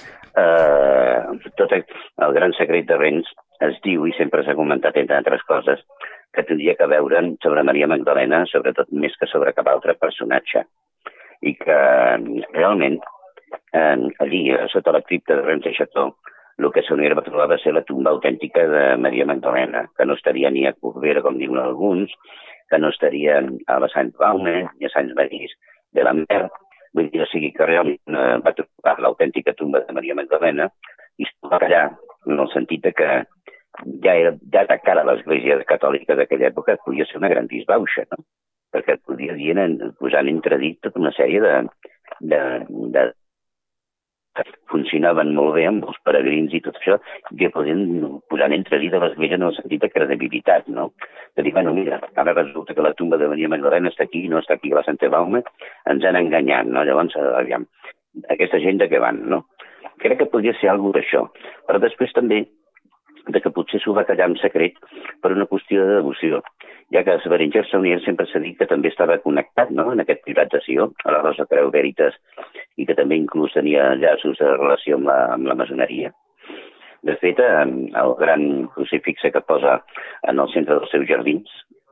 tot el gran secret de Rennes es diu, i sempre s'ha comentat entre altres coses, que tindria que veure sobre Maria Magdalena, sobretot més que sobre cap altre personatge. I que realment, allí, sota la cripta de Rennes de Chateau, el que Saunier va trobar va ser la tumba autèntica de Maria Magdalena, que no estaria ni a Corbera, com diuen alguns, que no estaria a la Sant-Baume ni a Sant-Marís de la Mer. Vull dir, o sigui que realment va trobar l'autèntica tumba de Maria Magdalena i es va callar, en el sentit que ja de cara a l'Església Catòlica d'aquella època podia ser una gran disbauxa, no? Perquè podia dir, posar en entredit tota una sèrie de funcionaven molt bé amb els peregrins i tot això, que podien posar en entredit de l'Església en el sentit de credibilitat, no? De dir, bueno, mira, ara resulta que la tumba de Maria Magdalena està aquí, no està aquí a la Santa Baume, ens han enganyat, no? Llavors, aviam, aquesta gent de què van, no? Crec que podria ser alguna d'això, però després també de que potser s'ho va callar en secret per una qüestió de devoció, ja que Berenguer Saunier sempre s'ha dit que també estava connectat, no?, en aquest Pilat de Sió, a la Rosa Creu Veritas, i que també inclús tenia llaços de relació amb la maçoneria. De fet, el gran crucifix que posa en el centre dels seus jardins,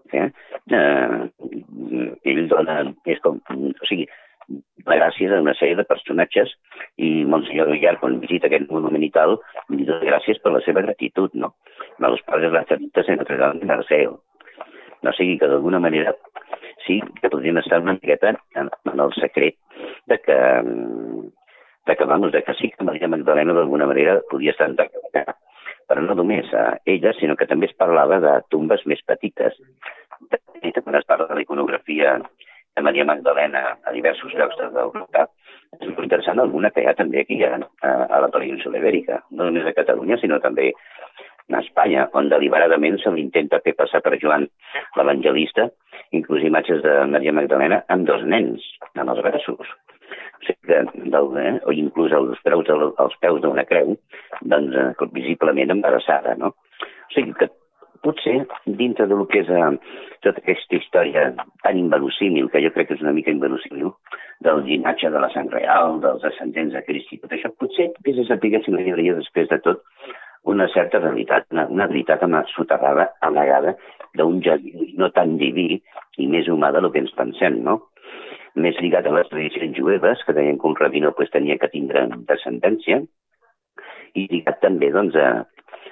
ell dona, és com, o sigui, gràcies a una sèrie de personatges i Monsenyor Villar, quan visita aquest monument i tal, li dona gràcies per la seva gratitud, no? A los padres lazaristas en Notre Dame de Marseille. No sigui que d'alguna manera sí que podríem estar una miqueta en el secret de que sí que Maria Magdalena d'alguna manera podia estar enterrada. Però no només a ella, sinó que també es parlava de tombes més petites. Quan es parla de la iconografia de Maria Magdalena a diversos llocs d'Europa, és molt interessant alguna que hi ha també aquí a la península Ibèrica, no només a Catalunya, sinó també a Espanya, on deliberadament se l'intenta fer passar per Joan l'Evangelista, inclús imatges de Maria Magdalena amb dos nens, en els braços. O sigui que, o inclús als peus d'una creu, doncs, visiblement embarassada, no? O O sigui que potser dintre del que és tota aquesta història tan inverossímil, que jo crec que és una mica inverossímil, del llinatge de la sang real, dels ascendents de Crist i tot això, potser vés a saber si hi hauria després de tot una certa realitat, una veritat soterrada, amagada, d'un geni no tan diví i més humà del que ens pensem, no? Més lligat a les tradicions jueves, que deien que un rabino tenia que tindre descendència, i lligat també doncs, a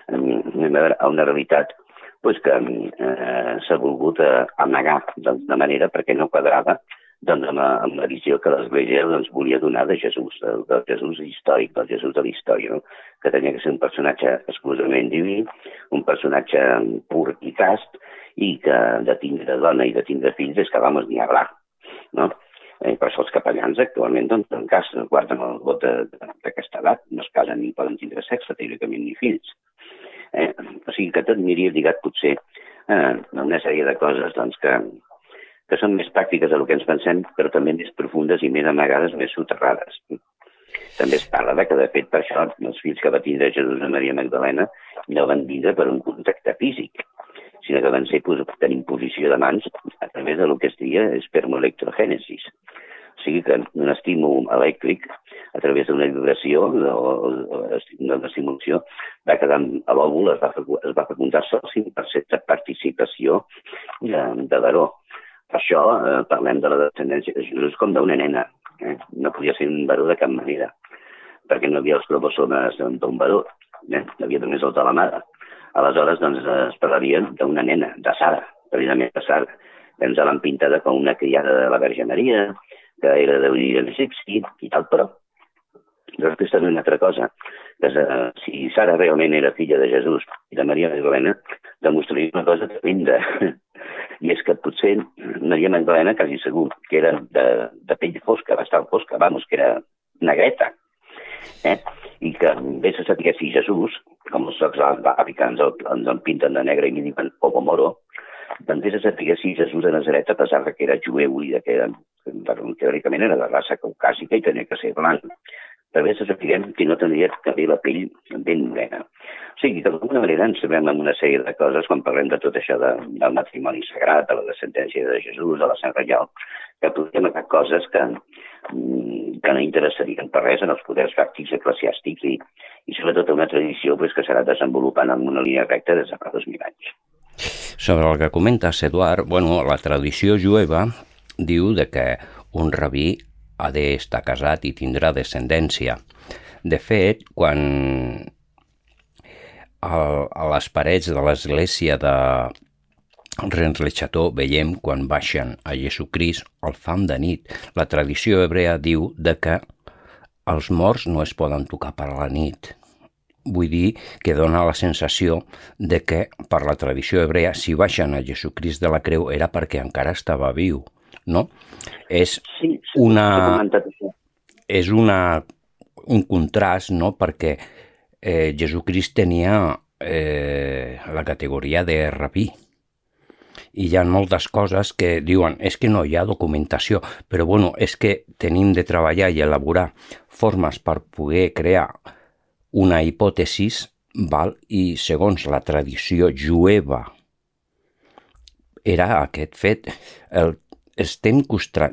una realitat que s'ha volgut amagar de manera perquè no quadrava amb la visió que l'Església volia donar de Jesús, del Jesús històric, del Jesús de la història, no? Que tenia que ser un personatge exclusivament diví, un personatge pur i cast, i que de tindre dona i de tindre fills és que vamos ni hablar, no? Per això els capellans actualment, en cas, guarden el vot d'aquesta edat, no es casen ni poden tindre sexe, teòricament, ni fills. O sigui que tot aniria lligat potser a una sèrie de coses que són més pràctiques del que ens pensem, però també més profundes i més amagades, més soterrades. També es parla que, de fet, per això els fills que va tindre Jesús i Maria Magdalena no van vindre per un contacte físic, sinó que van ser per imposició de mans a través del que es diria espermoelectrogènesis. O sigui que un estímul elèctric, a través d'una vibració o d'una estimulació, va quedar a l'òvul, es va fecundar sol 5% de participació de l'heró. Per això parlem de la descendència de Jesús com d'una nena. No podia ser un baró de cap manera, perquè no hi havia els cromosomes d'un baró, no hi havia només els de la mare. Aleshores, es parlaria d'una nena, de Sara, precisament de Sara, que ens l'han pintada com una criada de la Verge Maria, que era d'origen egipci i tal, però després també una altra cosa, que si Sara realment era filla de Jesús i de Maria Magdalena, demostraria una cosa tremenda, i és que potser Maria Magdalena quasi segur que era de pell fosca, bastant fosca, que era negreta, i que vés a saber si Jesús, com els socs africans ens en pinten de negre i li diuen ovo moro, doncs vés a saber si Jesús de Nazaret, a pesar que era jueu i que teòricament era de raça caucàsica i tenia que ser blanc, però vés a saber que no tindria també la pell ben morena. O sigui, d'alguna manera ens trobem amb una sèrie de coses quan parlem de tot això del matrimoni sagrat, de la descendència de Jesús, de la sang reial, que podríem agafar coses que no interessarien per res en els poders fàctics eclesiàstics i sobretot una tradició que s'ha anat desenvolupant en una línia recta des de fa 2.000 anys. Sobre el que comentes, Eduard, la tradició jueva diu que un rabí ha d'estar casat i tindrà descendència. De fet, quan a les parets de l'església de Rennes-le-Château veiem quan baixen a Jesucrist al fam de nit, la tradició hebrea diu que els morts no es poden tocar per la nit. Vull dir que dona la sensació que per la tradició hebrea si baixen a Jesucrist de la creu era perquè encara estava viu, no? És un contrast, no? Perquè Jesucrist tenia la categoria de rabí i hi ha moltes coses que diuen és que no hi ha documentació, però és que tenim de treballar i elaborar formes per poder crear una hipòtesis, i segons la tradició jueva era aquest fet. Estem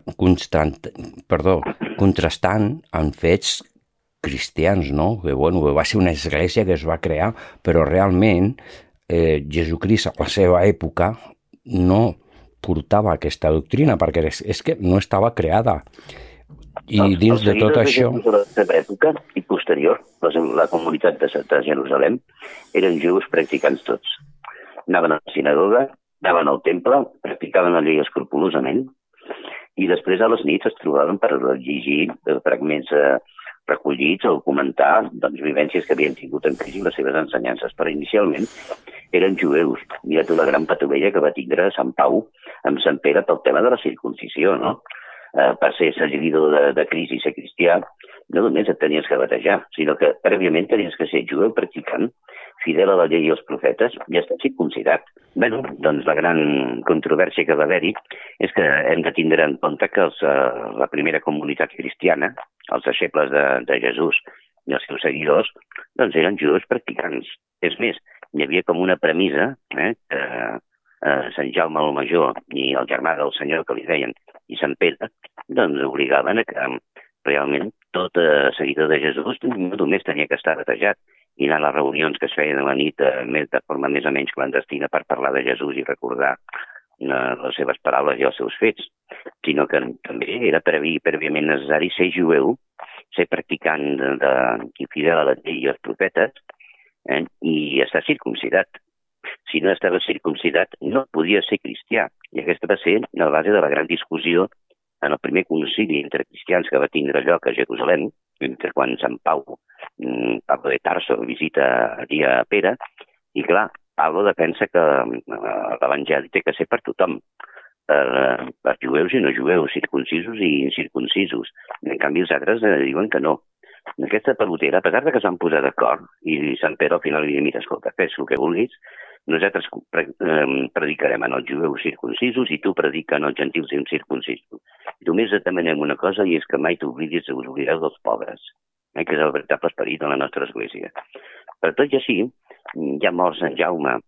contrastant amb fets cristians, no? Que va ser una església que es va crear, però realment Jesucrist a la seva època no portava aquesta doctrina perquè és que no estava creada. I dins de tot això... De la seva època i posterior, la comunitat de Jerusalem eren jueus practicants tots. Anaven a la sinagoga, anaven al temple, practicaven la llei escrupolosament i després a les nits es trobaven per llegir fragments recollits o comentar vivències que havien tingut en Crist i les seves ensenyances. Però inicialment eren jueus. Mira tu la gran patovella que va tindre Sant Pau amb Sant Pere pel tema de la circuncisió, no? Per ser seguidor de Crist i ser cristià, no només et tenies que batejar, sinó que prèviament tenies que ser jueu practicant, fidel a la llei i als profetes, i estar circumcidat. Bé, doncs la gran controvèrsia que va haver-hi és que hem de tindre en compte que la primera comunitat cristiana, els deixebles de Jesús i els seus seguidors, doncs eren jueus practicants. És més, hi havia com una premissa que Sant Jaume el Major i el germà del senyor que li deien i Sant Pere, doncs obligaven a que realment tot seguidor de Jesús no només tenia que estar batejat i anar a les reunions que es feien a la nit de forma més o menys clandestina per parlar de Jesús i recordar les seves paraules i els seus fets, sinó que també era prèviament necessari ser jueu, ser practicant i fidel a la llei i als profetes i estar circumcidat. Si no estava circumcidat, no podia ser cristià. I aquesta va ser la base de la gran discussió en el primer concili entre cristians que va tindre lloc a Jerusalem, entre quan Sant Pablo de Tarso visita allí a Pere, i clar, Pablo defensa que l'Evangeli té que ser per tothom, per jueus i no jueus, circuncisos i incircuncisos. En canvi, els altres diuen que no. Aquesta pelotera, a pesar de que s'han posat d'acord, i Sant Pere al final li diu, mira, escolta, fes el que vulguis, nosaltres predicarem en els jueus circuncisos i tu predica en els gentils incircuncisos. Només et demanem una cosa i és que mai t'oblidis de oblidar dels pobres, que és el veritable esperit de la nostra església. Però tot i així, ja mort Sant Jaume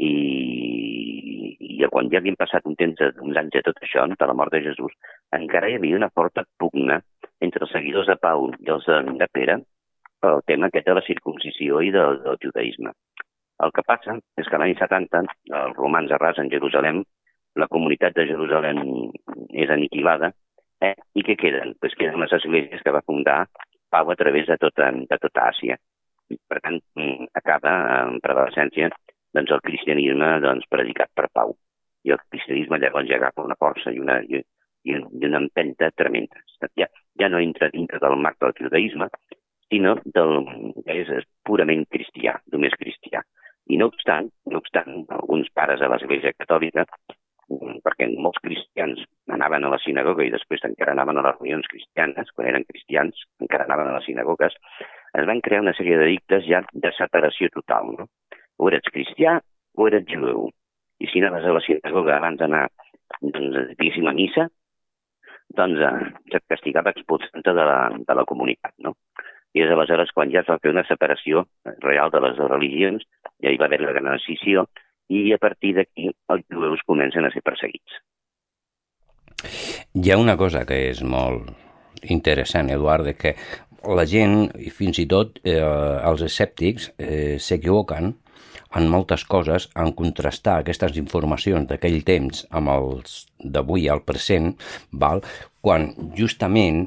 i quan ja havien passat uns anys de tot això, de la mort de Jesús, encara hi havia una forta pugna entre els seguidors de Pau i els de Pere pel tema aquest de la circuncisió i del judaïsme. El que passa és que l'any 70 els romans arrasen Jerusalem, la comunitat de Jerusalem és aniquilada, i què queden? Pues queden les esglésies que va fundar Pau a través de tota Àsia. Per tant, acaba en prevalecència el cristianisme predicat per Pau. I el cristianisme llavors ja agafa una força i una empenta tremenda. Ja no entra dintre del marc del judaïsme, sinó que és purament cristià, només cristià. I no obstant, alguns pares de l'Església Catòlica, perquè molts cristians anaven a la sinagoga i després encara anaven a les reunions cristianes, quan eren cristians encara anaven a les sinagogues, es van crear una sèrie d'edictes ja de separació total, no? O eres cristià o eres jueu. I si anaves a la sinagoga abans d'anar, diguéssim, a missa, se't castigava expulsant-te de la comunitat, no? I és aleshores quan ja es va fer una separació real de les religions, ja hi va haver la gran escissió, i a partir d'aquí els jueus comencen a ser perseguits. Hi ha una cosa que és molt interessant, Eduard, que la gent, i fins i tot els escèptics, s'equivoquen en moltes coses en contrastar aquestes informacions d'aquell temps amb els d'avui al present, quan justament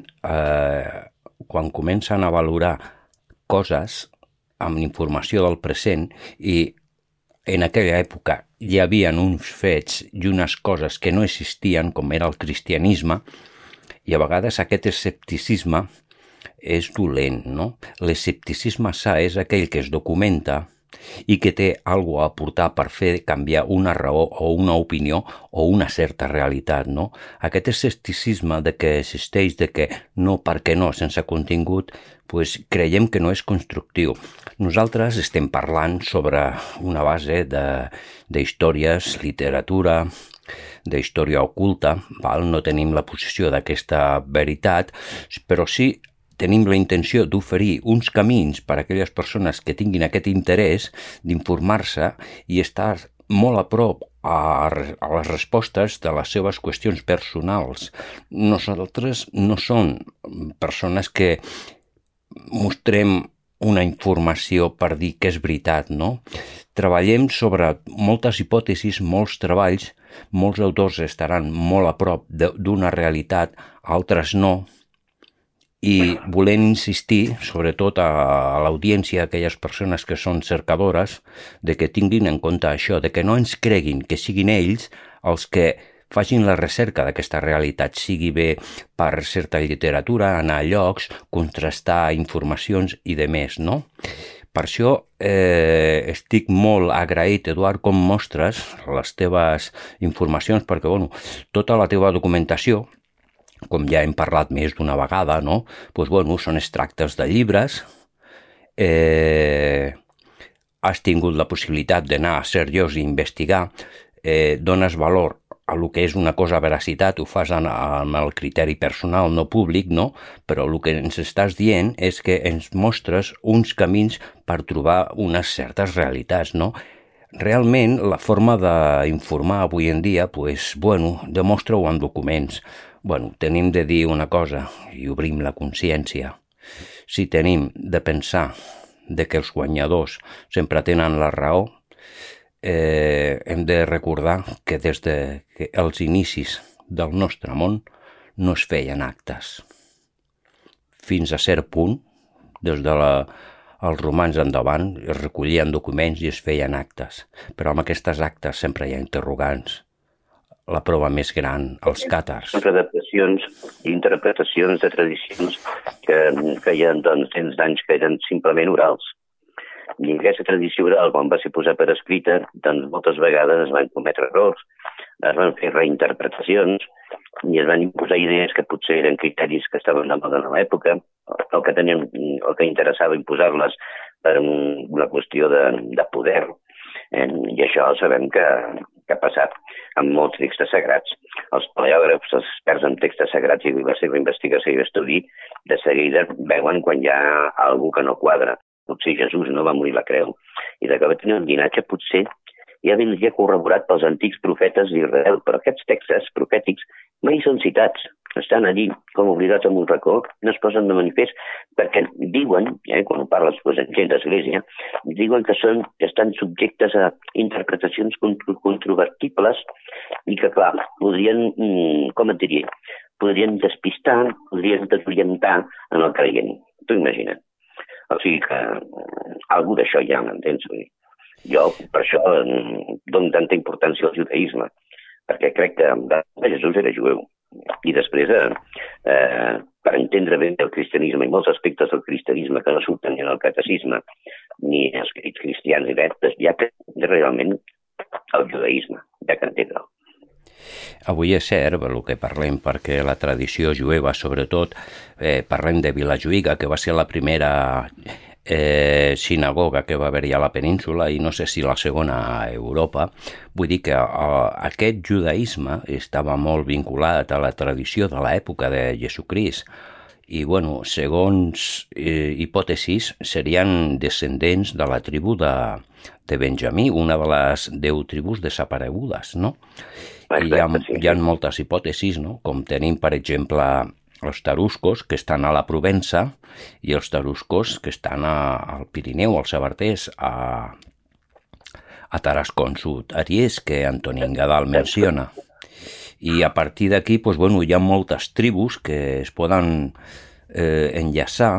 quan comencen a valorar coses amb informació del present i en aquella època hi havia uns fets i unes coses que no existien, com era el cristianisme, i a vegades aquest escepticisme és dolent, no? L'escepticisme sa és aquell que es documenta i que té alguna cosa a aportar per fer canviar una raó o una opinió o una certa realitat, no? Aquest escepticisme de que existeix, de que no, perquè no, sense contingut, pues creiem que no és constructiu. Nosaltres estem parlant sobre una base d'històries, literatura, d'història oculta, no tenim la posició d'aquesta veritat, però sí tenim la intenció d'oferir uns camins per a aquelles persones que tinguin aquest interès d'informar-se i estar molt a prop a les respostes de les seves qüestions personals. Nosaltres no som persones que mostrem una informació per dir que és veritat, no? Treballem sobre moltes hipòtesis, molts treballs, molts autors estaran molt a prop d'una realitat, altres no, i volem insistir, sobretot a l'audiència, a aquelles persones que són cercadores, de que tinguin en compte això, de que no ens creguin que siguin ells els que facin la recerca d'aquesta realitat, sigui bé per certa literatura, anar a llocs, contrastar informacions i de més, no? Per això estic molt agraït, Eduard, com mostres les teves informacions, perquè, tota la teva documentació, com ja hem parlat més d'una vegada, no? Són extractes de llibres, has tingut la possibilitat d'anar a seriós i investigar, dones valor a el que és una cosa veracitat, ho fas amb el criteri personal, no públic, no? Però el que ens estàs dient és que ens mostres uns camins per trobar unes certes realitats, no? realment la forma d'informar avui en dia, demostra-ho en documents. Tenim de dir una cosa i obrim la consciència. Si tenim de pensar de que els guanyadors sempre tenen la raó, hem de recordar que des dels inicis del nostre món no es feien actes. Fins a cert punt, des dels romans endavant, es recollien documents i es feien actes. Però amb aquestes actes sempre hi ha interrogants. La prova més gran, els càtars. Adaptacions i interpretacions de tradicions que feien cents d'anys que eren simplement orals. I aquesta tradició oral, quan va ser posada per escrita, doncs moltes vegades es van cometre errors, es van fer reinterpretacions i es van imposar idees que potser eren criteris que estaven de moda en l'època, o que interessava imposar-les per una qüestió de poder. I això sabem que ha passat amb molts textos sagrats. Els paleògrafs, els experts en textos sagrats i la seva investigació i estudi, de seguida veuen quan hi ha algú que no quadra. Potser Jesús no va morir la creu. I de que va tenir un llinatge potser ja vindria corroborat pels antics profetes d'Israel, però aquests textos profètics mai són citats. Estan allí com obligats en un racó, no es posen de manifest perquè diuen, quan ho parles amb gent d'església, diuen que estan subjectes a interpretacions controvertibles i que, clar, podrien, com et diria, podrien despistar, podrien desorientar en el creient. Tu imagina't. O sigui que algú d'això ja m'entens. Jo per això dono tanta importància al judaïsme, perquè crec que Jesús era jueu. I després, per entendre bé el cristianisme i molts aspectes del cristianisme que no surten ni en el catecisme ni en els escrits cristians i res, ja que realment el judaïsme, ja que entendre'l. Avui és cert el que parlem, perquè la tradició jueva, sobretot, parlem de Vilajuïga, que va ser la primera sinagoga que va haver-hi a la península i no sé si la segona a Europa. Vull dir que aquest judaïsme estava molt vinculat a la tradició de l'època de Jesucrist i, segons hipòtesis, serien descendents de la tribu de Benjamí, una de les 10 tribus desaparegudes, no? I hi ha moltes hipòtesis, no? Com tenim, per exemple, els taruscos, que estan a la Provença, i els taruscos, que estan al Pirineu, als Sabarters, a Tarascon Sud, Aries, que Antonín Gadal menciona. I a partir d'aquí, hi ha moltes tribus que es poden enllaçar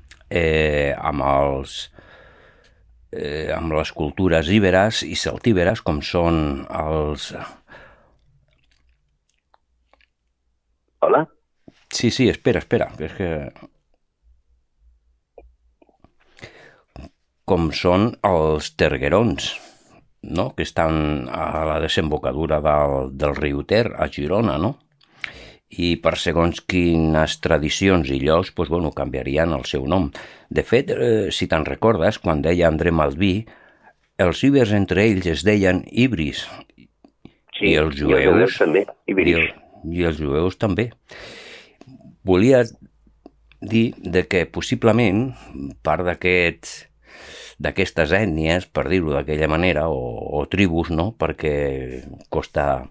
amb les cultures íberes i celtíberes, com són els... Hola? Sí, espera, és que... Com són els terguerons, no? Que estan a la desembocadura del riu Ter, a Girona, no? I per segons quines tradicions i llocs, canviarien el seu nom. De fet, si te'n recordes, quan deia André Malví, els ibers entre ells es deien ibris. Sí, i els jueus també, ibris. I els jueus també. Volia dir que possiblement part d'aquestes ètnies, per dir-ho d'aquella manera, o tribus, no? Perquè costa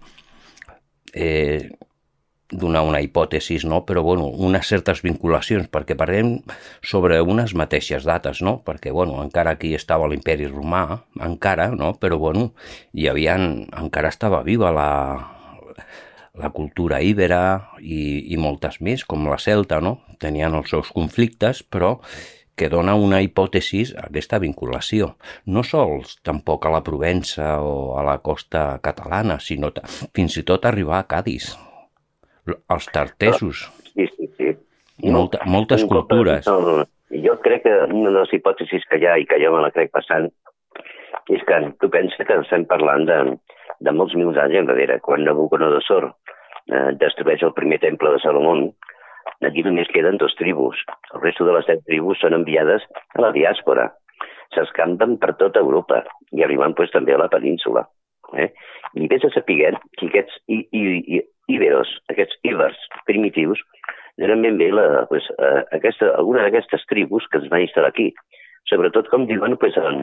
donar una hipòtesi, no? Però unes certes vinculacions, perquè parlem sobre unes mateixes dates, no? Perquè encara aquí estava l'imperi romà, encara, no? Però encara estava viva la cultura íbera i moltes més, com la celta, no? Tenien els seus conflictes, però que dona una hipòtesi a aquesta vinculació. No sols tampoc a la Provença o a la costa catalana, sinó fins i tot arribar a Cadis, els tartesos. Sí. Moltes cultures. Jo crec que una de les hipòtesis que hi ha i que jo me la crec passant és que tu penses que estem parlant de molts mils anys enrere, quan Nabucodonosor destrueix el primer temple de Salomón. Aquí només queden 2 tribus. El resto de les 10 tribus són enviades a la diàspora. S'escampen per tota Europa i arriben també a la península. I vés a saber que aquests íberos, aquests íbers primitius, eren ben bé alguna d'aquestes tribus que es van instal·lar aquí. Sobretot, com diuen,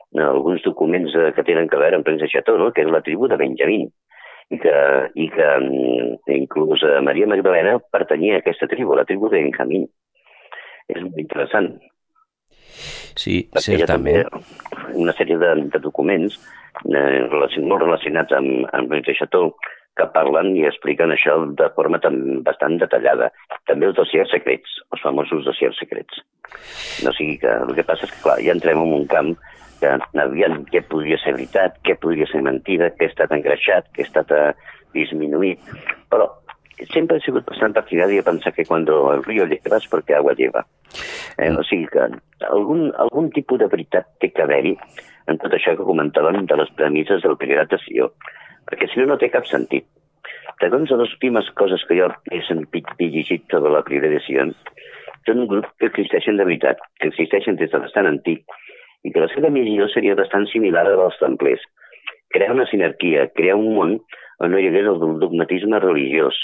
alguns documents que tenen que veure amb Rennes le Chateau, no? Que és la tribu de Benjamín, i que inclús Maria Magdalena pertanyia a aquesta tribu, la tribu de Benjamín. És molt interessant. Sí, perquè certament. Una sèrie de documents molt relacionats amb Rennes le Chateau que parlen i expliquen això de forma bastant detallada. També els dossiers secrets, els famosos dossiers secrets. O sigui que el que passa és que, clar, ja entrem en un camp que aviam què podria ser veritat, què podria ser mentida, què ha estat engreixat, què ha estat disminuït. Però sempre he sigut bastant partidari de pensar que quan el río lleva és perquè agua lleva. O sigui que algun tipus de veritat té que haver-hi en tot això que comentàvem de les premisses del Priorat de Sió, perquè si no, no té cap sentit. Segons les últimes coses que jo he sentit i llegit sobre la Priorat de Sió, són un grup que existeixen de veritat, que existeixen des de bastant antic, i que la seva missió seria bastant similar a la dels templers. Crear una sinergia, crear un món on no hi hagués el dogmatisme religiós,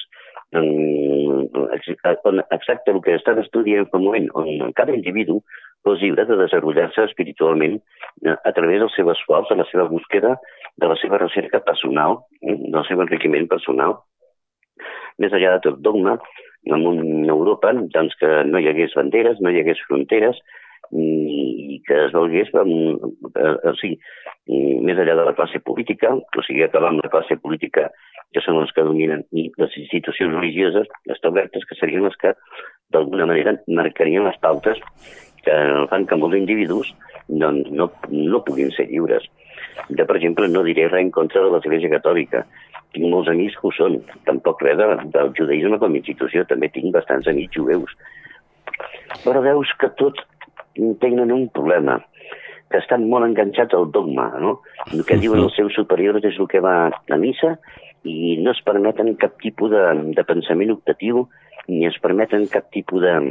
exacte el que estàs estudiant en un moment, on cada individu fos lliure de desenvolupar-se espiritualment a través del seu esforç, de la seva búsqueda, de la seva recerca personal, del seu enriquiment personal. Més enllà de tot dogma, en una Europa doncs, que no hi hagués banderes, no hi hagués fronteres, i que es volgués, o sigui, més enllà de la classe política, o sigui, acabar amb la classe política que són els que dominen, i les institucions religioses establertes, que serien les que d'alguna manera marcarien les pautes que fan que molts individus doncs, no puguin ser lliures. Jo, per exemple, no diré res en contra de l'Església Catòlica. Tinc molts amics que ho són. Tampoc res del judaïsme com a institució. També tinc bastants amics jueus. Però veus que tots tenen un problema, que estan molt enganxats al dogma, no? El que diuen els seus superiors és el que va a missa i no es permeten cap tipus de pensament optatiu ni es permeten cap tipus de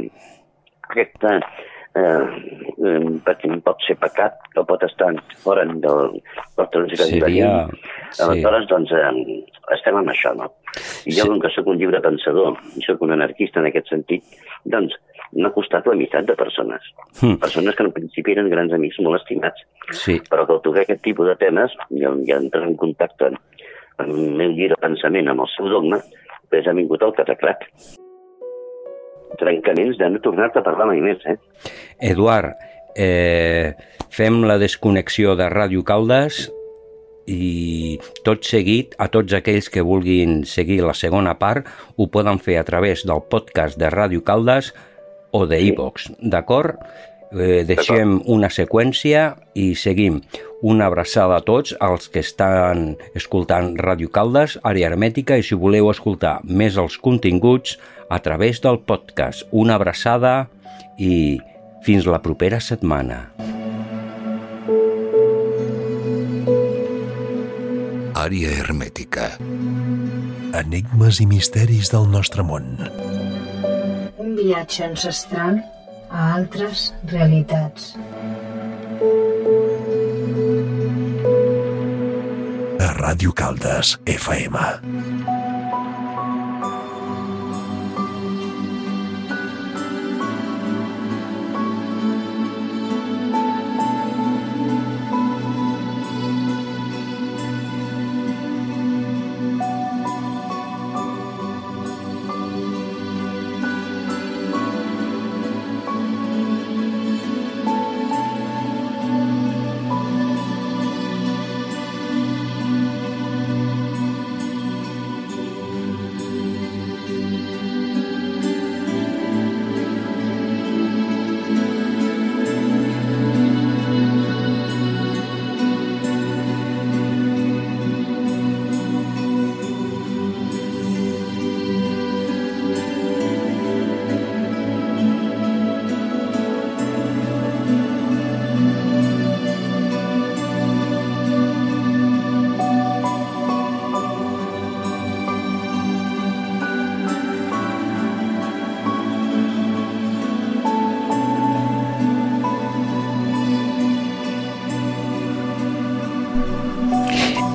perquè pot ser pecat o pot estar fora del seria... Aleshores, doncs, estem amb això, no? I jo, com que soc un lliure pensador i soc un anarquista en aquest sentit, doncs m'ha costat la meitat de persones. Persones que en principi eren grans amics molt estimats. Sí. Però que al tocar aquest tipus de temes, ja entrar en contacte amb el meu lliure pensament, amb el seu dogma, doncs ha vingut el catacrac. Trencaments de no tornar-te a parlar mai més, Eduard, fem la desconnexió de Ràdio Caldes i tot seguit, a tots aquells que vulguin seguir la segona part, ho poden fer a través del podcast de Ràdio Caldes o de iVox, d'acord? Deixem una seqüència i seguim. Una abraçada a tots els que estan escoltant Ràdio Caldes, Àrea Hermètica, i si voleu escoltar més els continguts a través del podcast. Una abraçada i fins la propera setmana. Àrea Hermètica. Enigmes i misteris del nostre món. Un viatge ancestral a altres realitats. A Ràdio Caldes, FM.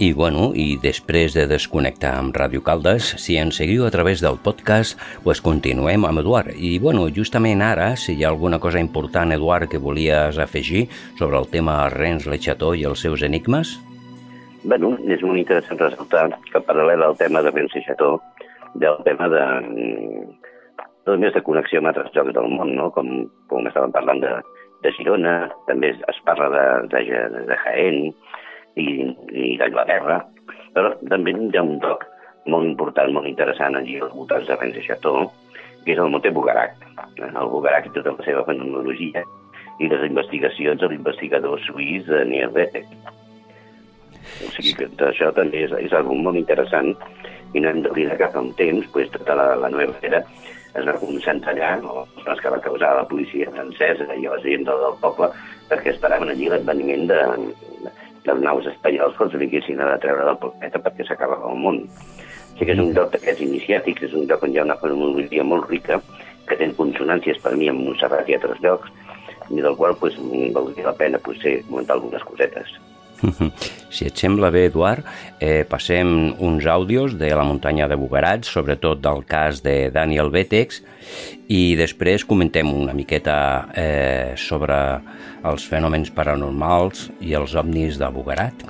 I després de desconnectar amb Ràdio Caldes, si ens seguiu a través del podcast, continuem amb Eduard. I justament ara, si hi ha alguna cosa important, Eduard, que volies afegir sobre el tema Rennes le Chateau i els seus enigmes? És molt interessant ressaltar que paral·lel al tema de Rennes le Chateau, del tema de més de connexió amb altres llocs del món, no? Com estàvem parlant de Girona, també es parla de Jaén i d'Anglaterra, però també hi ha un lloc molt important, molt interessant allí als voltants de Rennes le Chateau, que és el Monte Bugarak. El Bugarak i tota la seva fenomenologia i les investigacions de l'investigador suís Daniel Wettich. O sigui que això també és algo molt interessant i no hem d'oblidar que fa un temps tota la nova era es va concentrar allà, els que va causar la policia francesa i la gent del poble, perquè esperaven allí l'adveniment dels naus espanyols quan vinguessin a treure del planeta perquè s'acabava el món. O sigui que és un lloc d'aquests iniciàtics, és un lloc on hi ha una fenomenologia molt rica que té consonàncies per mi amb Montserrat i altres llocs, i del qual valdria la pena comentar algunes cosetes. Si et sembla bé, Eduard, passem uns àudios de la muntanya de Bugarat, sobretot del cas de Daniel Wettich, i després comentem una miqueta sobre els fenòmens paranormals i els ovnis de Bugarat.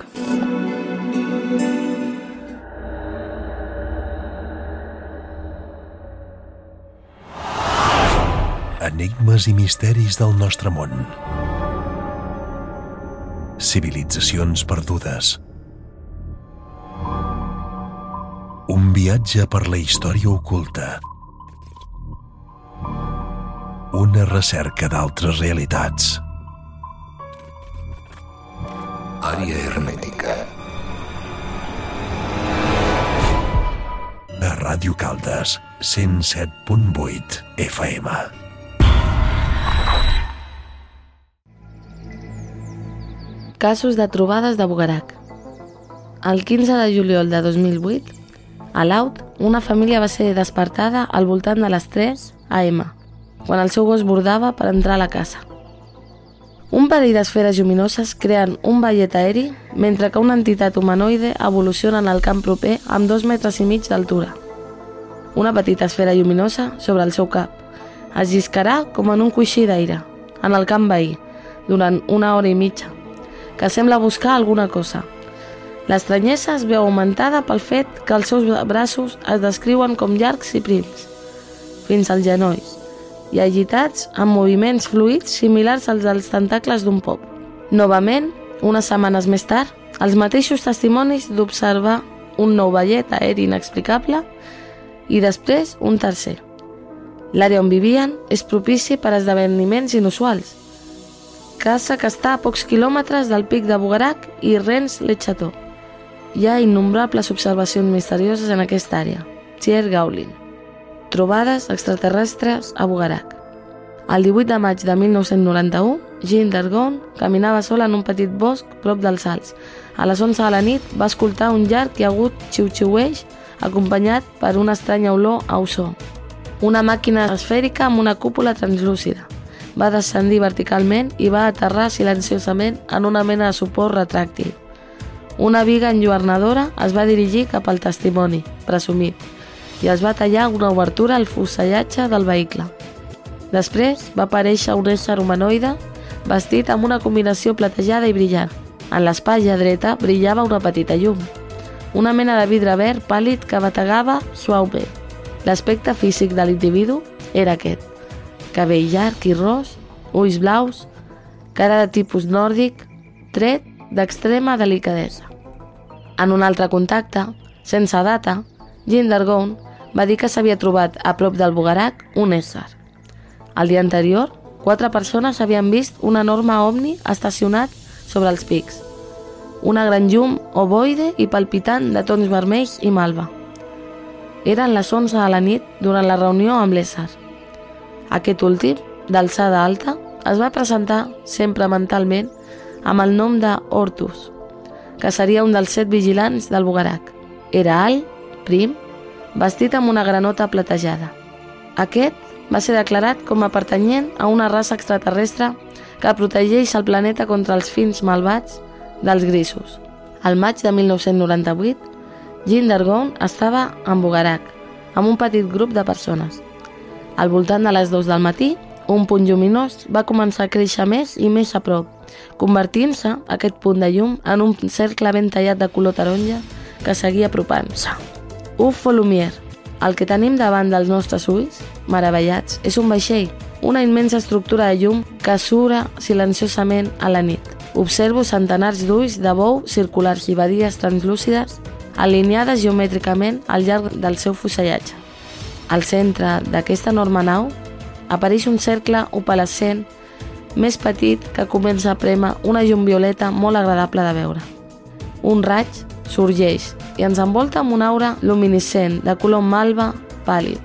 Enigmes i misteris del nostre món. Civilitzacions perdudes. Un viatge per la història oculta. Una recerca d'altres realitats. Àrea hermètica. A Ràdio Caldes, 107.8 FM. Casos de trobades de Bugarak. El 15 de juliol de 2008, a Laut, una família va ser despertada al voltant de les 3 AM, quan el seu gos bordava per entrar a la casa. Un parell d'esferes lluminoses creen un ballet aeri mentre que una entitat humanoide evoluciona en el camp proper amb 2,5 metres d'altura. Una petita esfera lluminosa sobre el seu cap es lliscarà com en un coixí d'aire en el camp veí durant 1 hora i mitja, que sembla buscar alguna cosa. L'estranyesa es veu augmentada pel fet que els seus braços es descriuen com llargs i prims, fins als genolls, i agitats amb moviments fluids similars als dels tentacles d'un pop. Novament, unes setmanes més tard, els mateixos testimonis d'observar un nou ballet aeri inexplicable i després un tercer. L'àrea on vivien és propici per esdeveniments inusuals, casa que està a pocs quilòmetres del pic de Bugarak i Rennes le Chateau. Hi ha innombrables observacions misterioses en aquesta àrea. Thierry Gaulin. Trobades extraterrestres a Bugarak. El 18 de maig de 1991, Jean Dargon caminava sola en un petit bosc prop dels Alps. A les 11 de la nit va escoltar un llarg i agut xiu-xiueix acompanyat per una estranya olor a ozó. Una màquina esfèrica amb una cúpula translúcida. Va descendir verticalment i va aterrar silenciosament en una mena de suport retràctil. Una viga enlluernadora es va dirigir cap al testimoni, presumit, i es va tallar una obertura al fusellatge del vehicle. Després va aparèixer un ésser humanoide vestit amb una combinació platejada i brillant. En l'espatlla dreta brillava una petita llum, una mena de vidre verd pàl·lid que bategava suaument. L'aspecte físic de l'individu era aquest: cabell llarg i ros, ulls blaus, cara de tipus nòrdic, tret d'extrema delicadesa. En un altre contacte, sense data, Jean Dargon va dir que s'havia trobat a prop del Bugarak un ésser. El dia anterior, 4 persones havien vist un enorme ovni estacionat sobre els pics. Una gran llum ovoide i palpitant de tons vermells i malva. Eren les 11 de la nit durant la reunió amb l'ésser. Aquest últim, d'alçada alta, es va presentar, sempre mentalment, amb el nom de Ortus, que seria un dels 7 vigilants del Bugarak. Era alt, prim, vestit amb una granota platejada. Aquest va ser declarat com a pertanyent a una raça extraterrestre que protegeix el planeta contra els fins malvats dels grisos. Al maig de 1998, Jean d'Argonne estava en Bugarach, amb un petit grup de persones. Al voltant de les 2 del matí, un punt lluminós va començar a créixer més i més a prop, convertint-se aquest punt de llum en un cercle ben tallat de color taronja que seguia apropant-se. Ufo Lumière, el que tenim davant dels nostres ulls, meravellats, és un vaixell, una immensa estructura de llum que sura silenciosament a la nit. Observo centenars d'ulls de bou circulars i badies translúcides alineades geomètricament al llarg del seu fusellatge. Al centre d'aquesta enorme nau apareix un cercle opalescent més petit que comença a prémer una llum violeta molt agradable de veure. Un raig sorgeix i ens envolta amb una aura luminescent de color malva pàl·lid.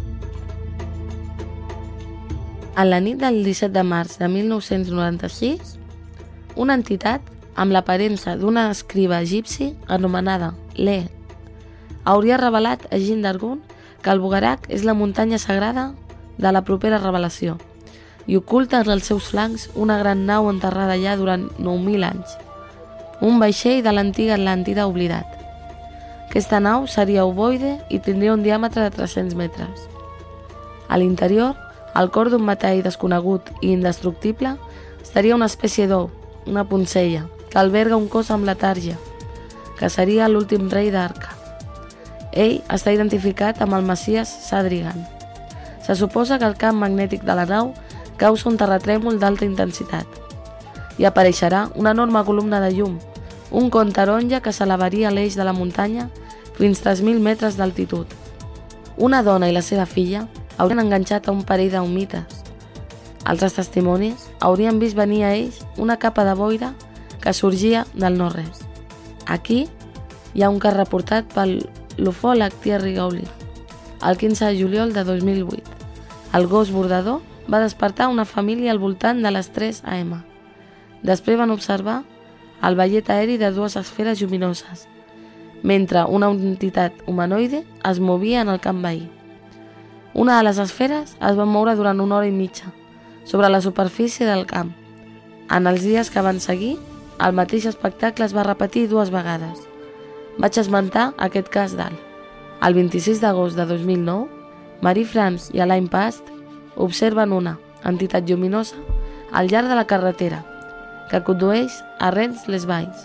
En la nit del 17 de març de 1996, una entitat amb l'aparença d'una escriba egipci anomenada Le hauria revelat a Jean d'Argonne que el Bugarach és la muntanya sagrada de la propera revelació i oculta en els seus flancs una gran nau enterrada allà durant 9.000 anys, un vaixell de l'antiga Atlàntida oblidat. Aquesta nau seria ovoide i tindria un diàmetre de 300 metres. A l'interior, al cor d'un metall desconegut i indestructible, estaria una espècie d'ou, una poncella, que alberga un cos amb letàrgia, que seria l'últim rei d'Arca. Ell està identificat amb el Messies Sadrigan. Se suposa que el camp magnètic de la nau causa un terratrèmol d'alta intensitat i apareixerà una enorme columna de llum, un con taronja que s'elevaria a l'eix de la muntanya fins 3.000 metres d'altitud. Una dona i la seva filla haurien enganxat a un parell d'humites. Altres testimonis haurien vist venir a ells una capa de boira que sorgia del no-res. Aquí hi ha un cas reportat pel l'ufòleg Thierry Gauli, el 15 de juliol de 2008. El gos bordador va despertar una família al voltant de les 3 AM. Després van observar el vellet aeri de 2 esferes lluminoses, mentre una entitat humanoide es movia en el camp veí. Una de les esferes es va moure durant 1 hora i mitja sobre la superfície del camp. En els dies que van seguir, el mateix espectacle es va repetir 2 vegades. Vaig esmentar aquest cas dalt. El 26 d'agost de 2009, Marie-France i Alain Past observen una entitat lluminosa al llarg de la carretera que condueix a Rennes-les-Valls.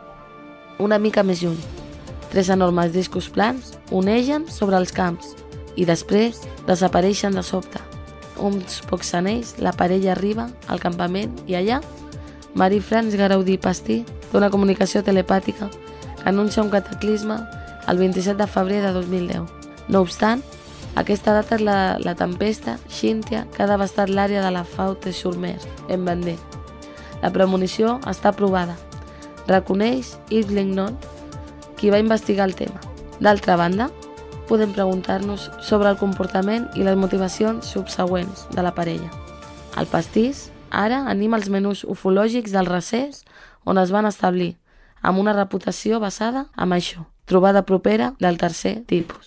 Una mica més lluny, 3 enormes discos plans onegen sobre els camps i després desapareixen de sobte. Uns pocs anells, la parella arriba al campament i allà Marie-France Garaudi-Pastí té una comunicació telepàtica que anuncia un cataclisme el 27 de febrer de 2010. No obstant, aquesta data és la tempesta Xíntia que ha devastat l'àrea de la Faute-sur-Mer, en Vendée. La premonició està aprovada. Reconeix Yves Lignon, qui va investigar el tema. D'altra banda, podem preguntar-nos sobre el comportament i les motivacions subsegüents de la parella. El pastís ara anima els menús ufològics del recés on es van establir, amb una reputació basada en això, trobada propera del tercer tipus.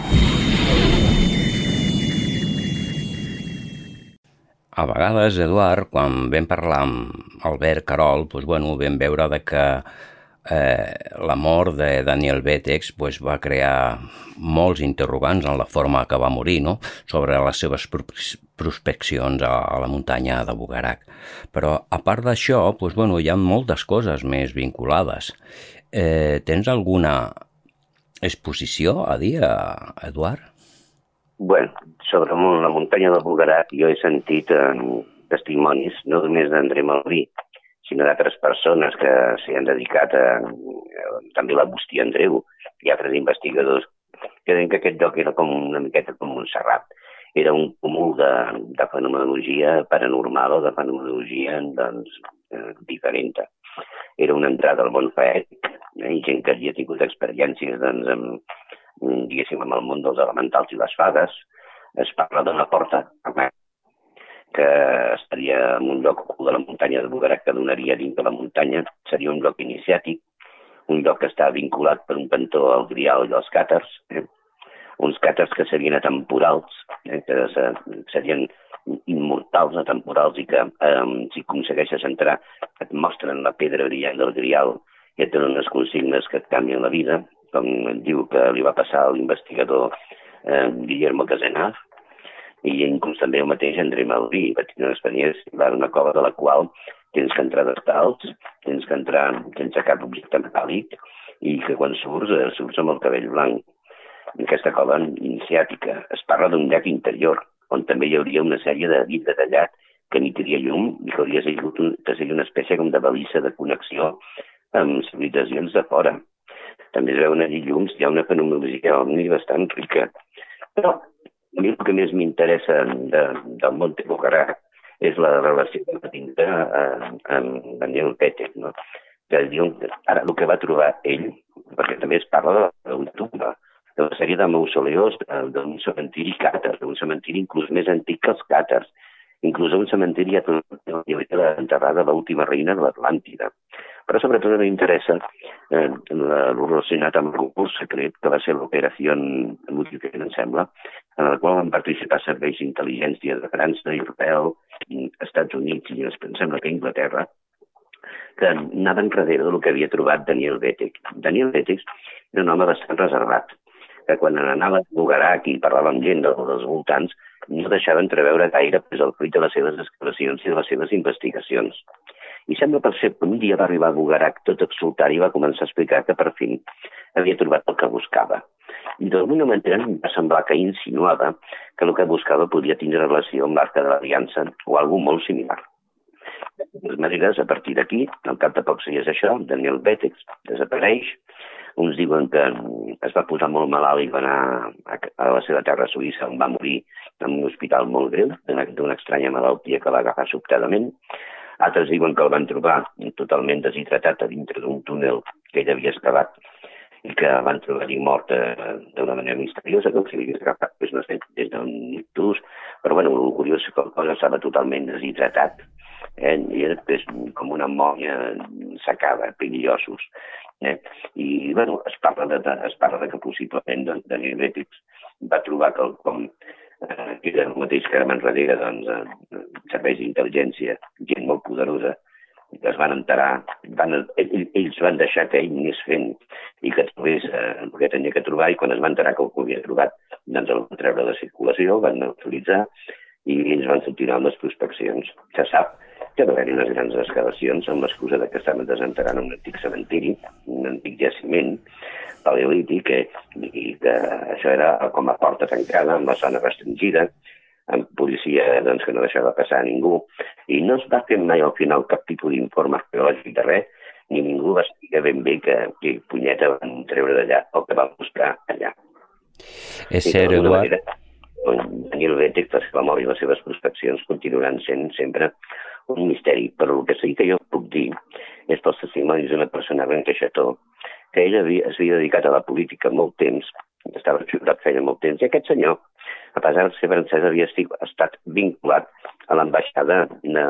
A vegades, Eduard, quan vam parlar amb Albert Carol, vam veure que la mort de Daniel Betex va crear molts interrogants en la forma que va morir, no? Sobre les seves prospeccions a la muntanya de Bugarach. Però, a part d'això, hi ha moltes coses més vinculades. Tens alguna exposició a dir, Eduard? Bueno, sobre la muntanya de Bugarach jo he sentit testimonis, no només d'André Malví, sinó d'altres persones que s'hi han dedicat també l'Agustí Andreu i altres investigadors que deien que aquest lloc era com una miqueta com Montserrat. Era un cúmul de fenomenologia paranormal o de fenomenologia diferent. Era una entrada al món faètic i gent que havia tingut experiències diguéssim amb el món dels elementals i les fades. Es parla d'una porta que estaria en un lloc ocult de la muntanya de Bugarach que donaria dins de la muntanya. Seria un lloc iniciàtic, un lloc que està vinculat per un cantó al grial i als càtars, uns càtars que serien atemporals, que serien immortals, atemporals, i que si aconsegueixes entrar et mostren la pedra brillant del grial que tenen unes consignes que et canvien la vida, com diu que li va passar a l'investigador Guillermo Casenaf, i inclús també el mateix André Maurí va tenir una experiència en una cova de la qual tens que entrar descalç, tens que entrar sense cap objecte metàl·lic i que quan surts amb el cabell blanc. En aquesta cova iniciàtica es parla d'un llac interior, on també hi hauria una sèrie de vidre tallat que emetria llum i que hauria sigut una espècie com de balissa de connexió amb civilitzacions de fora. També es veuen allí llums, hi ha una fenomenologia ovni bastant rica. Però a mi el que més m'interessa del Monte Bugarach és la relació que va tindre amb Daniel Betek, no? Que diuen que ara el que va trobar ell, perquè també es parla d'una tumba, d'una sèrie de mausoleos d'un cementiri càtar, d'un cementiri inclús més antic que els càtars, inclús un cementiri enterrada l'última reina de l'Atlàntida. Però sobretot m'interessa el relacionat amb el concurs secret, que va ser l'operació Multiplier, em sembla, en la qual van participar serveis d'intel·ligència de França, Israel, Estats Units i em sembla que Inglaterra, que anaven darrere del que havia trobat Daniel Betek. Daniel Betek era un home bastant reservat, que quan anava a Bugarach i parlava amb gent dels voltants, no deixava entreveure gaire el fruit de les seves excavacions i de les seves investigacions. I sembla per ser que un dia va arribar a Bugarach tot exultant i va començar a explicar que per fi havia trobat el que buscava. I d'alguna manera em va semblar que insinuava que el que buscava podia tindre relació amb l'Arca de l'Aliança o alguna molt similar. De totes maneres, a partir d'aquí, al cap de pocs dies això, Daniel Betek desapareix. Uns diuen que es va posar molt malalt i va anar a la seva terra suïssa, on va morir en un hospital molt greu, d'una estranya malaltia que va agafar sobtadament. Altres diuen que el van trobar totalment deshidratat a dintre d'un túnel que ell havia excavat i que van trobar-hi mort d'una manera misteriosa, com si l'hagués agafat des d'un ictus. Però bueno, el curiós és que el cos estava totalment deshidratat i era després com una molla secada, perillosos. I bueno, es parla de que possiblement Daniel Betek va trobar quelcom que era el mateix que van darrere serveis d'intel·ligència, gent molt poderosa, que es van enterar, ells van deixar que ell anés fent i que trobés el que tenia que trobar, i quan es van enterar que ho havia trobat, doncs el van treure de circulació, el van neutralitzar i ells van continuar amb les prospeccions. Se sap que va haver-hi unes grans excavacions amb l'excusa que estaven desenterrant un antic cementiri, un antic jaciment paleolític, i que això era com a porta tancada, amb la zona restringida, amb policia que no deixava passar a ningú. I no es va fer mai al final cap tipus d'informe arqueològic de res, ni ningú va saber ben bé que punyeta van treure d'allà o que van buscar allà. És cert, Eduard. Daniel Betek, per la mort i les seves prospeccions, continuaran sent sempre un misteri, però el que sí que jo puc dir és pels testimonis d'una persona ben queixató, que ell s'havia dedicat a la política molt temps, estava jurat feia molt temps, i aquest senyor, a pesar de ser francès, havia estat vinculat a l'ambaixada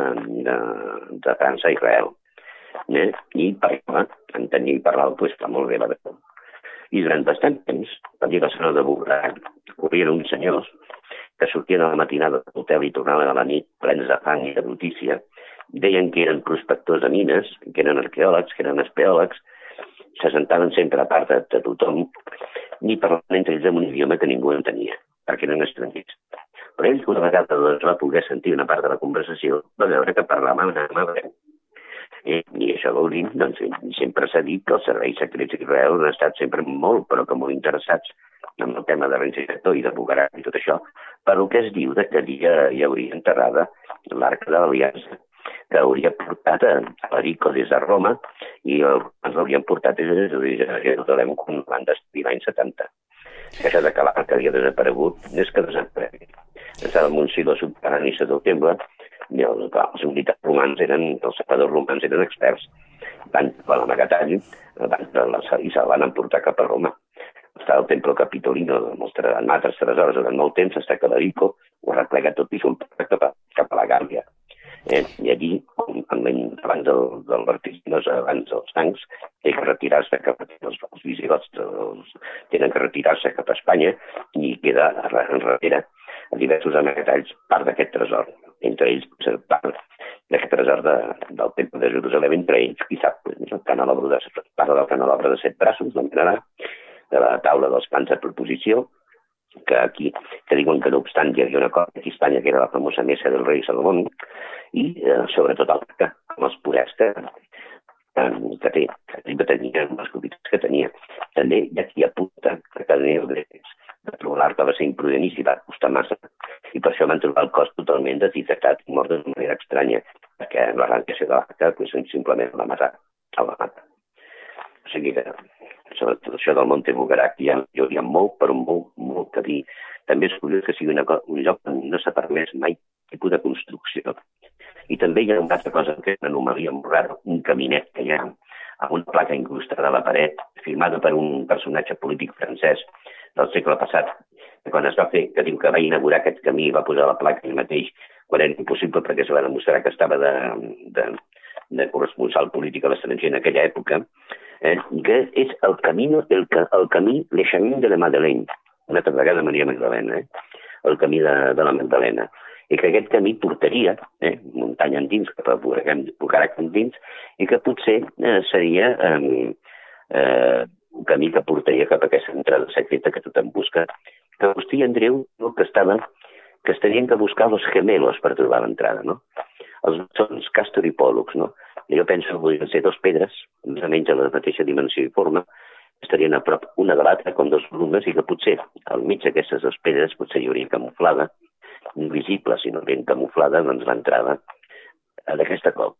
de França a Israel. I parlava, entenia i parlava, doncs fa molt bé la veu. I durant bastant temps, va dir la zona de Bugarach, corrien uns senyors que sortien a la matinada de l'hotel i tornaven a la nit plens de fang i de brutícia, deien que eren prospectors de mines, que eren arqueòlegs, que eren espeòlegs, se sentaven sempre a part de tothom, ni parlaven entre ells en un idioma que ningú entenia, perquè eren estrangers. Però ell, una vegada va poder sentir una part de la conversació, va veure que parlaven en hebreu. I això vol dir, doncs, sempre s'ha dit que els serveis secrets d'Israel han estat sempre molt, però que molt interessats en el tema de Renzi-Sector i de Bugarach i tot això, per el que es diu que allí hi hauria enterrada l'Arca de l'Aliança, que hauria portat a l'Erico des de Roma, i els romans l'haurien portat des de Jerusalem quan van destruir l'any 70. Això que l'Arca havia desaparegut és que desaparegui. Estava en un silo subterrani sota el temple, i els militars romans els sapadors romans eren experts. Van trobar l'amagatall i se'l van emportar cap a Roma. Està el Templo Capitolino amb altres tresors durant molt temps, està que l'Erico ho arreplega tot i se'l porta cap a la Gàmbia. I allí, abans del Vertiginos, abans dels tancs, té que retirar-se els visigots, tenen que retirar-se cap a Espanya, i queda enrere a diversos amagatalls part d'aquest tresor. Entre ells, part d'aquest tresor del Temple de Jerusalem, entre ells, qui sap, el canelobre parla del canelobre de 7 braços, l'anomenarà, de la taula dels pans de proposició, que diuen que no obstant hi havia una cosa aquí a Espanya que era la famosa mesa del rei Salomón, i sobretot l'arca, amb els poders que tenia, amb les qualitats que tenia. També hi ha qui apunta que Daniel Vètex de trobar l'arca va ser imprudent i s'hi va costar massa, i per això van trobar el cos totalment deshidratat i mort d'una manera estranya, perquè l'arrancació de l'arca simplement la mata. O sigui que sobre tot això del Monte Bugarak hi hauria molt, però molt que dir. També és curiós que sigui un lloc on no s'ha permès mai tipus de construcció. I també hi ha una altra cosa que és una anomalia molt rara, un caminet que hi ha amb una placa incrustada a la paret, firmada per un personatge polític francès del segle passat, que quan es va fer, que diu que va inaugurar aquest camí i va posar la placa ell mateix, quan era impossible perquè es va demostrar que estava de corresponsal polític a l'estranger en aquella època, que és el camí Le Chemin de la Madeleine, una altra vegada Maria Magdalena, el camí de la Magdalena, i que aquest camí portaria muntanya endins, cap a Bugarak endins, i que potser seria un camí que portaria cap a aquesta entrada secreta que tothom busca, que Agustí i Andreu que es tenien que buscar los gemelos per trobar l'entrada, no? Són Càstor i Pòl·lux, no? Jo penso que podrien ser 2 pedres, més o menys de la mateixa dimensió i forma, estarien a prop una de l'altra com 2 columnes i que potser al mig d'aquestes 2 pedres potser hi hauria camuflada, invisible, sinó ben camuflada, doncs l'entrada d'aquesta cova.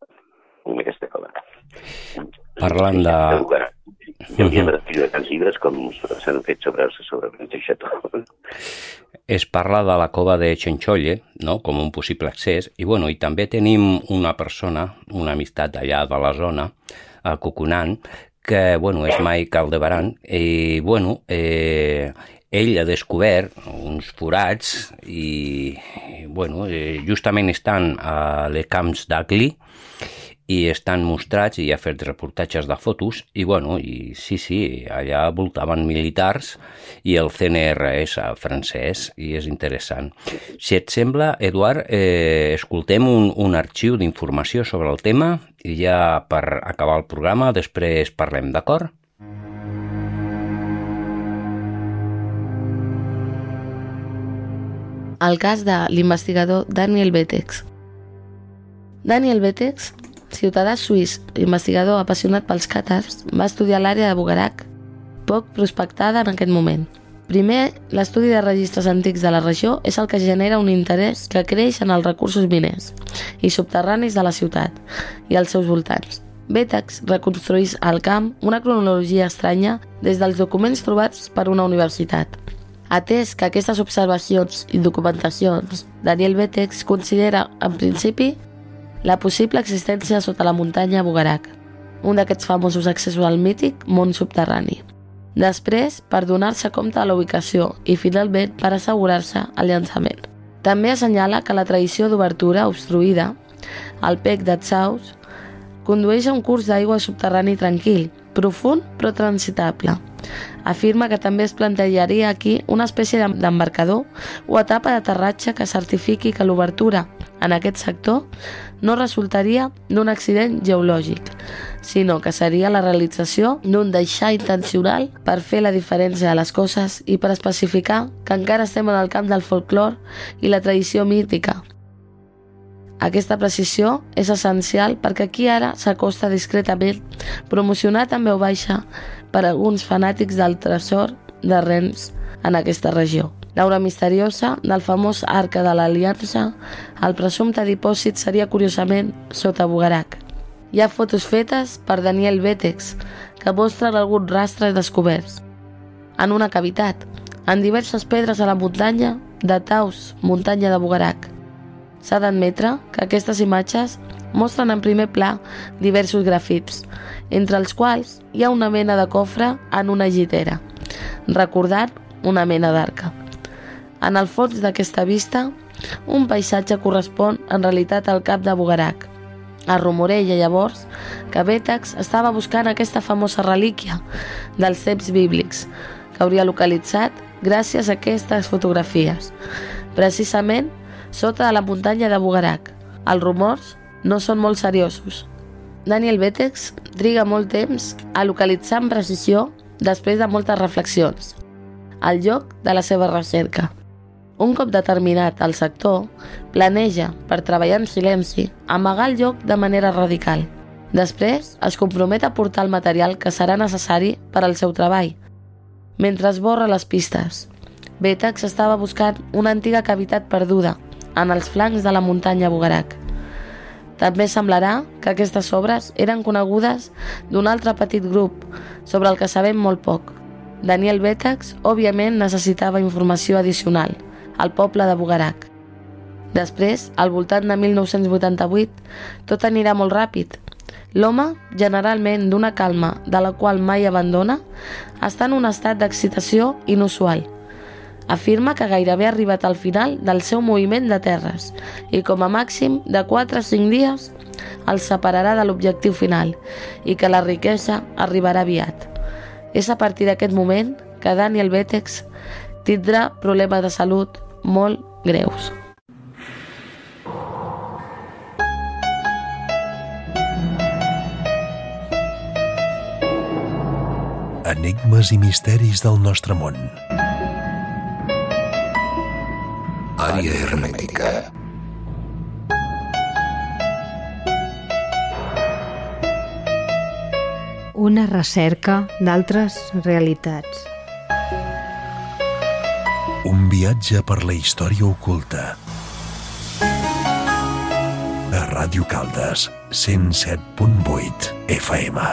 Parlant de... Hi hauria d'escriure tants llibres com s'han fet sobre Xató. Es parla de la cova de Chencholle, no?, com un possible accés, i també tenim una persona, una amistat allà de la zona, a Cucunant, que és Mike Aldebaran, i ell ha descobert uns forats i justament estan a les camps d'Agli i estan mostrats i ha fet reportatges de fotos i sí, allà voltaven militars i el CNRS francès i és interessant. Si et sembla, Eduard, escoltem un arxiu d'informació sobre el tema i ja per acabar el programa després parlem, d'acord? El cas de l'investigador Daniel Vètex. Daniel Vètex, ciutadà suís, investigador apassionat pels càtars, va estudiar l'àrea de Bugarak, poc prospectada en aquest moment. Primer, l'estudi de registres antics de la regió és el que genera un interès que creix en els recursos miners i subterranis de la ciutat i els seus voltants. Vètex reconstruís al camp una cronologia estranya des dels documents trobats per una universitat. Atès que aquestes observacions i documentacions, Daniel Vètex considera, en principi, la possible existència sota la muntanya Bugarak, un d'aquests famosos accessos al mític món subterrani. Després, per donar-se compte de la ubicació i, finalment, per assegurar-se el llançament. També assenyala que la tradició d'obertura obstruïda, el Pec d'Atsaus, condueix a un curs d'aigua subterrani tranquil, profund però transitable. Afirma que també es plantejaria aquí una espècie d'embarcador o etapa d'aterratge que certifiqui que l'obertura en aquest sector no resultaria d'un accident geològic, sinó que seria la realització d'un deixar intencional per fer la diferència de les coses i per especificar que encara estem en el camp del folklore i la tradició mítica. Aquesta precisió és essencial perquè aquí ara s'acosta discretament, promocionat en veu baixa per alguns fanàtics del tresor de Rennes en aquesta regió. L'aura misteriosa del famós Arca de l'Aliança, el presumpte dipòsit seria curiosament sota Bugarak. Hi ha fotos fetes per Daniel Vètex que mostren alguns rastres descoberts. En una cavitat, en diverses pedres a la muntanya de Taus, muntanya de Bugarak. S'ha d'admetre que aquestes imatges mostren en primer pla diversos grafits, entre els quals hi ha una mena de cofre en una llitera, recordant una mena d'arca. En el fons d'aquesta vista, un paisatge correspon en realitat al cap de Bugarak. Es rumoreja llavors que Vètex estava buscant aquesta famosa relíquia dels temps bíblics, que hauria localitzat gràcies a aquestes fotografies, precisament sota de la muntanya de Bugarak. Els rumors no són molt seriosos. Daniel Betex triga molt temps a localitzar amb precisió, després de moltes reflexions, el lloc de la seva recerca. Un cop determinat el sector, planeja, per treballar en silenci, amagar el lloc de manera radical. Després, es compromet a portar el material que serà necessari per al seu treball. Mentre esborra les pistes, Betex estava buscant una antiga cavitat perduda en els flancs de la muntanya Bugarak. També semblarà que aquestes obres eren conegudes d'un altre petit grup, sobre el que sabem molt poc. Daniel Betex, òbviament, necessitava informació addicional, al poble de Bugarak. Després, al voltant de 1988, tot anirà molt ràpid. L'home, generalment d'una calma de la qual mai abandona, està en un estat d'excitació inusual. Afirma que gairebé ha arribat al final del seu moviment de terres i com a màxim de 4 a 5 dies el separarà de l'objectiu final i que la riquesa arribarà aviat. És a partir d'aquest moment que Daniel Betex tindrà problemes de salut molt greus. Enigmes i misteris del nostre món. Àrea hermètica. Una recerca d'altres realitats. Un viatge per la història oculta. A Ràdio Caldes, 107.8 FM.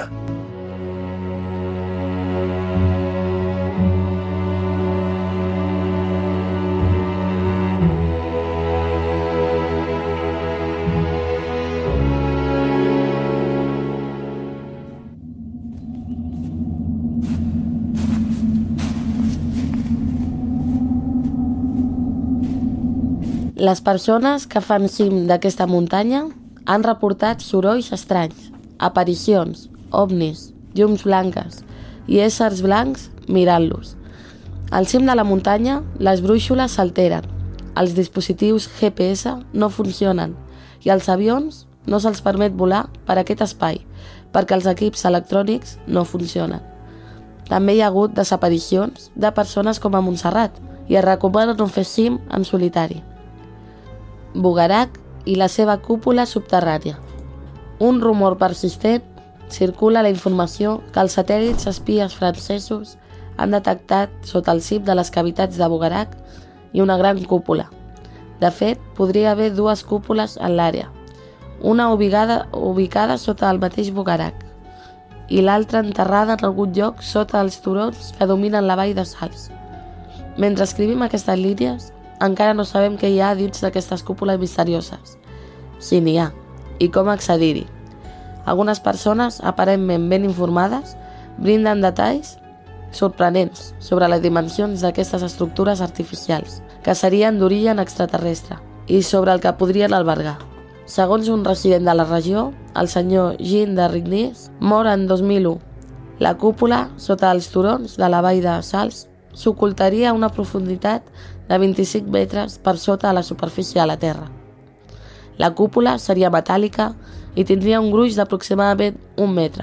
Les persones que fan cim d'aquesta muntanya han reportat sorolls estranys, aparicions, ovnis, llums blanques i éssers blancs mirant-los. Al cim de la muntanya, les brúixoles s'alteren, els dispositius GPS no funcionen i als avions no se'ls permet volar per aquest espai perquè els equips electrònics no funcionen. També hi ha hagut desaparicions de persones com a Montserrat i es recomana no fer cim en solitari. Bugarak i la seva cúpula subterrània. Un rumor persistent circula la informació que els satèl·lits espies francesos han detectat sota el cim de les cavitats de Bugarak i una gran cúpula. De fet, podria haver 2 cúpules en l'àrea, una ubicada sota el mateix Bugarak i l'altra enterrada en algun lloc sota els turons que dominen la vall de Sals. Mentre escrivim aquestes línies, encara no sabem què hi ha dins d'aquestes cúpules misterioses, si n'hi ha, i com accedir-hi. Algunes persones, aparentment ben informades, brinden detalls sorprenents sobre les dimensions d'aquestes estructures artificials, que serien d'origen extraterrestre, i sobre el que podrien albergar. Segons un resident de la regió, el senyor Jean de Rignis, mor en 2001. La cúpula, sota els turons de la vall de Sals, s'ocultaria a una profunditat de 25 metres per sota de la superfície de la Terra. La cúpula seria metàl·lica i tindria un gruix d'aproximadament 1 metre.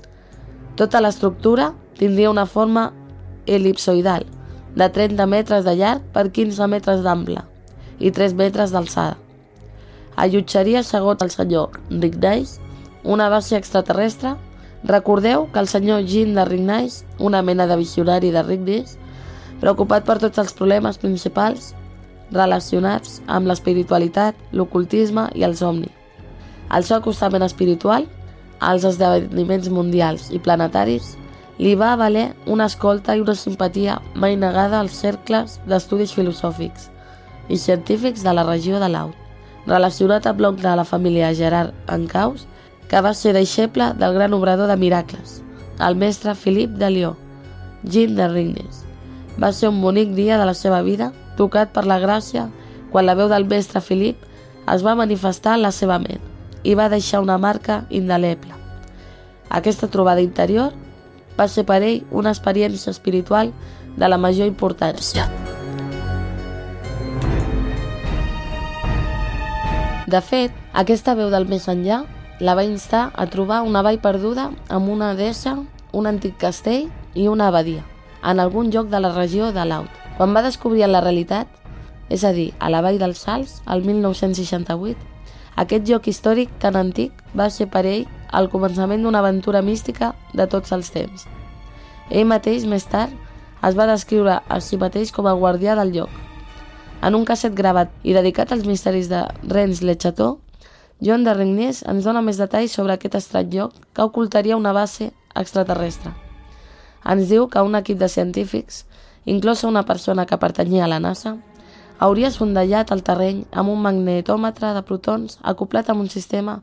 Tota l'estructura tindria una forma elipsoidal, de 30 metres de llarg per 15 metres d'ample i 3 metres d'alçada. Allotjaria, segons el senyor Rignis, una base extraterrestre. Recordeu que el senyor Jean de Rignis, una mena de visionari de Rignis, preocupat per tots els problemes principals relacionats amb l'espiritualitat, l'ocultisme i els somnis. El seu acostament espiritual, als esdeveniments mundials i planetaris, li va valer una escolta i una simpatia mai negada als cercles d'estudis filosòfics i científics de la regió de Laud, relacionat amb l'oncle de la família Gerard Ancaus, que va ser deixeble del gran obrador de miracles, el mestre Philippe de Lió, Jean de Rignis. Va ser un bonic dia de la seva vida, tocat per la gràcia, quan la veu del mestre Philippe es va manifestar en la seva ment i va deixar una marca indeleble. Aquesta trobada interior va ser per ell una experiència espiritual de la major importància. De fet, aquesta veu del més enllà la va instar a trobar una vall perduda amb una deessa, un antic castell i una abadia, en algun lloc de la regió de Laud. Quan va descobrir la realitat, és a dir, a la vall dels Salts, el 1968, aquest lloc històric tan antic va ser per ell el començament d'una aventura mística de tots els temps. Ell mateix, més tard, es va descriure a si mateix com a guardià del lloc. En un casset gravat i dedicat als misteris de Rennes-le-Château, John de Regnies ens dona més detalls sobre aquest estrany lloc que ocultaria una base extraterrestre. Ens diu que un equip de científics, inclosa una persona que pertanyia a la NASA, hauria sondellat el terreny amb un magnetòmetre de protons acoplat amb un sistema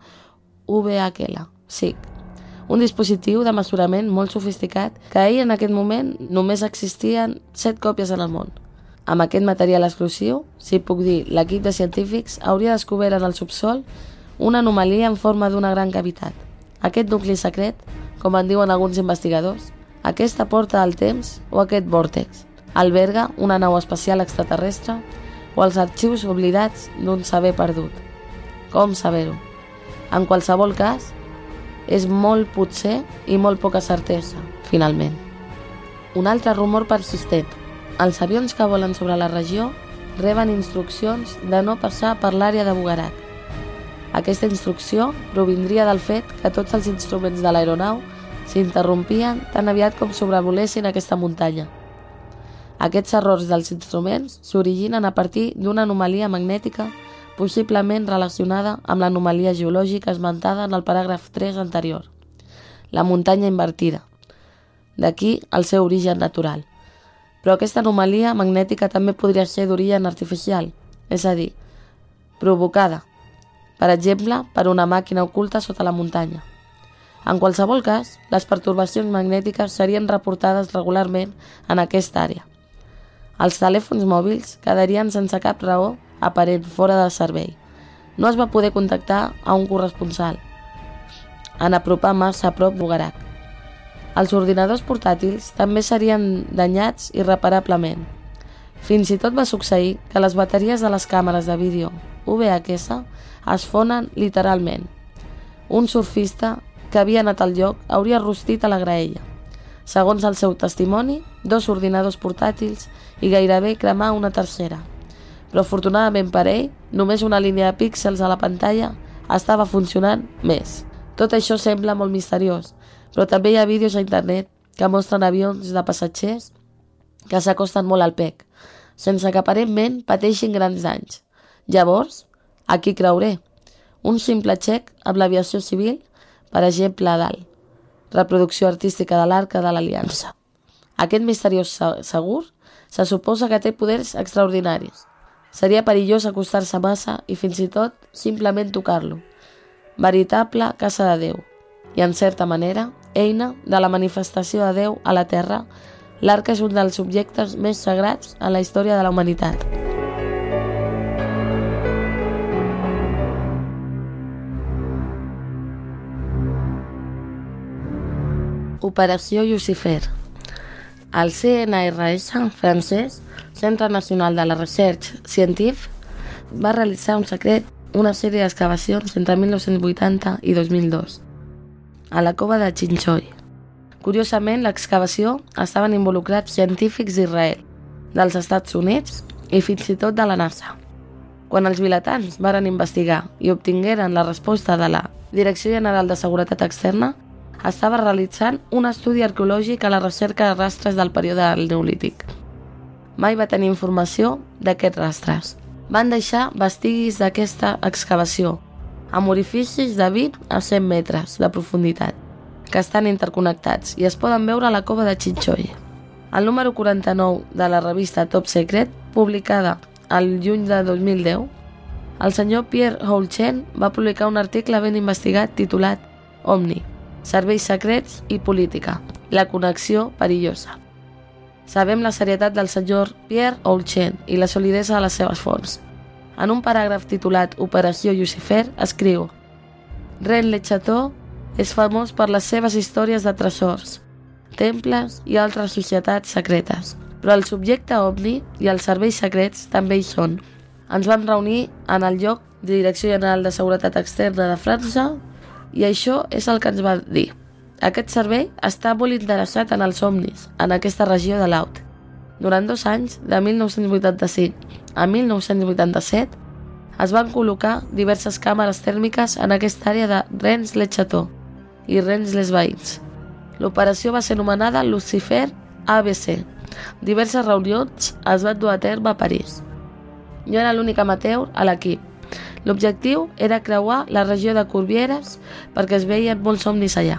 UVHL, SIG, un dispositiu de mesurament molt sofisticat que ahir en aquest moment només existien 7 còpies en el món. Amb aquest material exclusiu, si puc dir, l'equip de científics hauria descobert en el subsol una anomalia en forma d'una gran cavitat. Aquest nucli secret, com en diuen alguns investigadors, aquesta porta del temps o aquest vòrtex, alberga una nau espacial extraterrestre o els arxius oblidats d'un saber perdut. Com saber-ho? En qualsevol cas, és molt potser i molt poca certesa, finalment. Un altre rumor persistent. Els avions que volen sobre la regió reben instruccions de no passar per l'àrea de Bugarak. Aquesta instrucció provindria del fet que tots els instruments de l'aeronau s'interrompien tan aviat com sobrevolessin aquesta muntanya. Aquests errors dels instruments s'originen a partir d'una anomalia magnètica possiblement relacionada amb l'anomalia geològica esmentada en el paràgraf 3 anterior, la muntanya invertida. D'aquí el seu origen natural. Però aquesta anomalia magnètica també podria ser d'origen artificial, és a dir, provocada, per exemple, per una màquina oculta sota la muntanya. En qualsevol cas, les pertorbacions magnètiques serien reportades regularment en aquesta àrea. Els telèfons mòbils quedarien sense cap raó aparent fora de servei. No es va poder contactar a un corresponsal en apropar massa a prop d'Ugarak. Els ordinadors portàtils també serien danyats irreparablement. Fins i tot va succeir que les bateries de les càmeres de vídeo VHS es fonen literalment. Un surfista que havia anat al lloc hauria rostit a la graella. Segons el seu testimoni, 2 ordinadors portàtils i gairebé cremar una tercera. Però afortunadament per ell, només una línia de píxels a la pantalla estava funcionant més. Tot això sembla molt misteriós, però també hi ha vídeos a internet que mostren avions de passatgers que s'acosten molt al PEC, sense que aparentment pateixin grans danys. Llavors, a qui creuré? Un simple xec amb l'aviació civil, per exemple, dalt. Reproducció artística de l'Arca de l'Aliança. Aquest misteriós segur se suposa que té poders extraordinaris. Seria perillós acostar-se massa i fins i tot simplement tocar-lo. Veritable casa de Déu. I en certa manera, eina de la manifestació de Déu a la Terra, l'Arca és un dels objectes més sagrats en la història de la humanitat. Operació Lucifer. El CNRS francès, Centre Nacional de la Recherche Scientifique, va realitzar una sèrie d'excavacions entre 1980 i 2002 a la cova de Chinchoy. Curiosament, l'excavació estaven involucrats científics d'Israel, dels Estats Units i fins i tot de la NASA. Quan els vilatans varen investigar i obtingueren la resposta de la Direcció General de Seguretat Externa, estava realitzant un estudi arqueològic a la recerca de rastres del període del Neolític. Mai va tenir informació d'aquests rastres. Van deixar vestigis d'aquesta excavació, amb orificis de 20 a 100 metres de profunditat, que estan interconnectats i es poden veure a la cova de Chinchoy. El número 49 de la revista Top Secret, publicada al juny de 2010, el senyor Pierre Houlchen va publicar un article ben investigat titulat Omni, serveis secrets i política, la connexió perillosa. Sabem la serietat del senyor Pierre Houlchen i la solidesa de les seves fonts. En un paràgraf titulat Operació Lucifer escriu: Rennes-le-Château és famós per les seves històries de tresors, temples i altres societats secretes, però el subjecte ovni i els serveis secrets també hi són. Ens vam reunir en el lloc de Direcció General de Seguretat Externa de França i això és el que ens va dir. Aquest servei està molt interessat en els somnis en aquesta regió de l'Aut. Durant 2 anys, de 1985 a 1987, es van col·locar diverses càmeres tèrmiques en aquesta àrea de Rennes-le-Château i Rennes-les-Bains. L'operació va ser anomenada Lucifer ABC. Diverses reunions es van dur a terme a París. Jo era l'únic amateur a l'equip. L'objectiu era creuar la regió de Corbières perquè es veien molts somnis allà.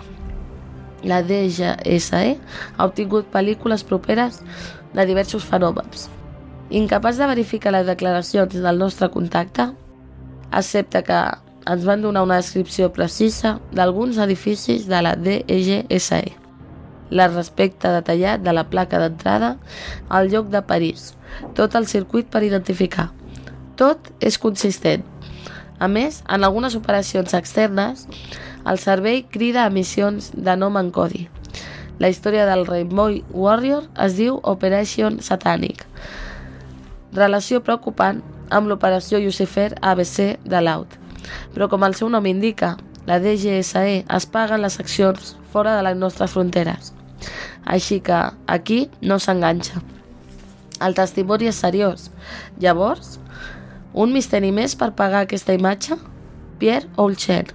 La DGSE ha obtingut pel·lícules properes de diversos fenòmens. Incapaç de verificar les declaracions del nostre contacte, excepte que ens van donar una descripció precisa d'alguns edificis de la DGSE, el respecte detallat de la placa d'entrada al lloc de París, tot el circuit per identificar. Tot és consistent. A més, en algunes operacions externes, el servei crida a missions de nom en codi. La història del Rainbow Warrior es diu Operation Satanic. Relació preocupant amb l'operació Lucifer ABC de l'Aut. Però com el seu nom indica, la DGSE es paga en les accions fora de les nostres fronteres. Així que aquí no s'enganxa. El testimoni és seriós. Llavors, un misteri més per pagar aquesta imatge? Pierre Olchen.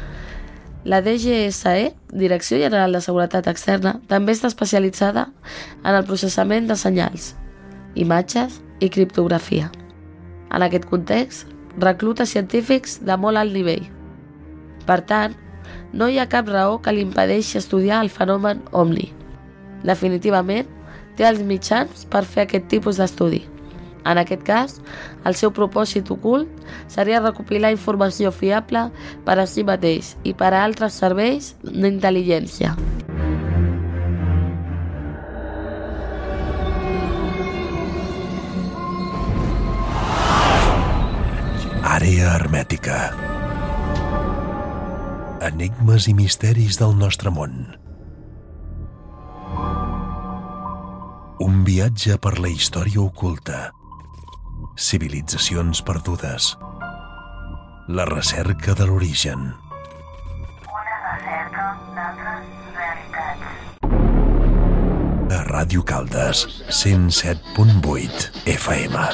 La DGSE, Direcció General de Seguretat Externa, també està especialitzada en el processament de senyals, imatges i criptografia. En aquest context, recluta científics de molt alt nivell. Per tant, no hi ha cap raó que li impedeixi estudiar el fenomen OVNI. Definitivament, té els mitjans per fer aquest tipus d'estudi. En aquest cas, el seu propòsit ocult seria recopilar informació fiable per a si mateix i per a altres serveis d'intel·ligència. Àrea hermètica. Enigmes i misteris del nostre món. Un viatge per la història oculta. Civilitzacions perdudes. La recerca de l'origen. Una recerca d'altres realitats. A Ràdio Caldes, 107.8 FM.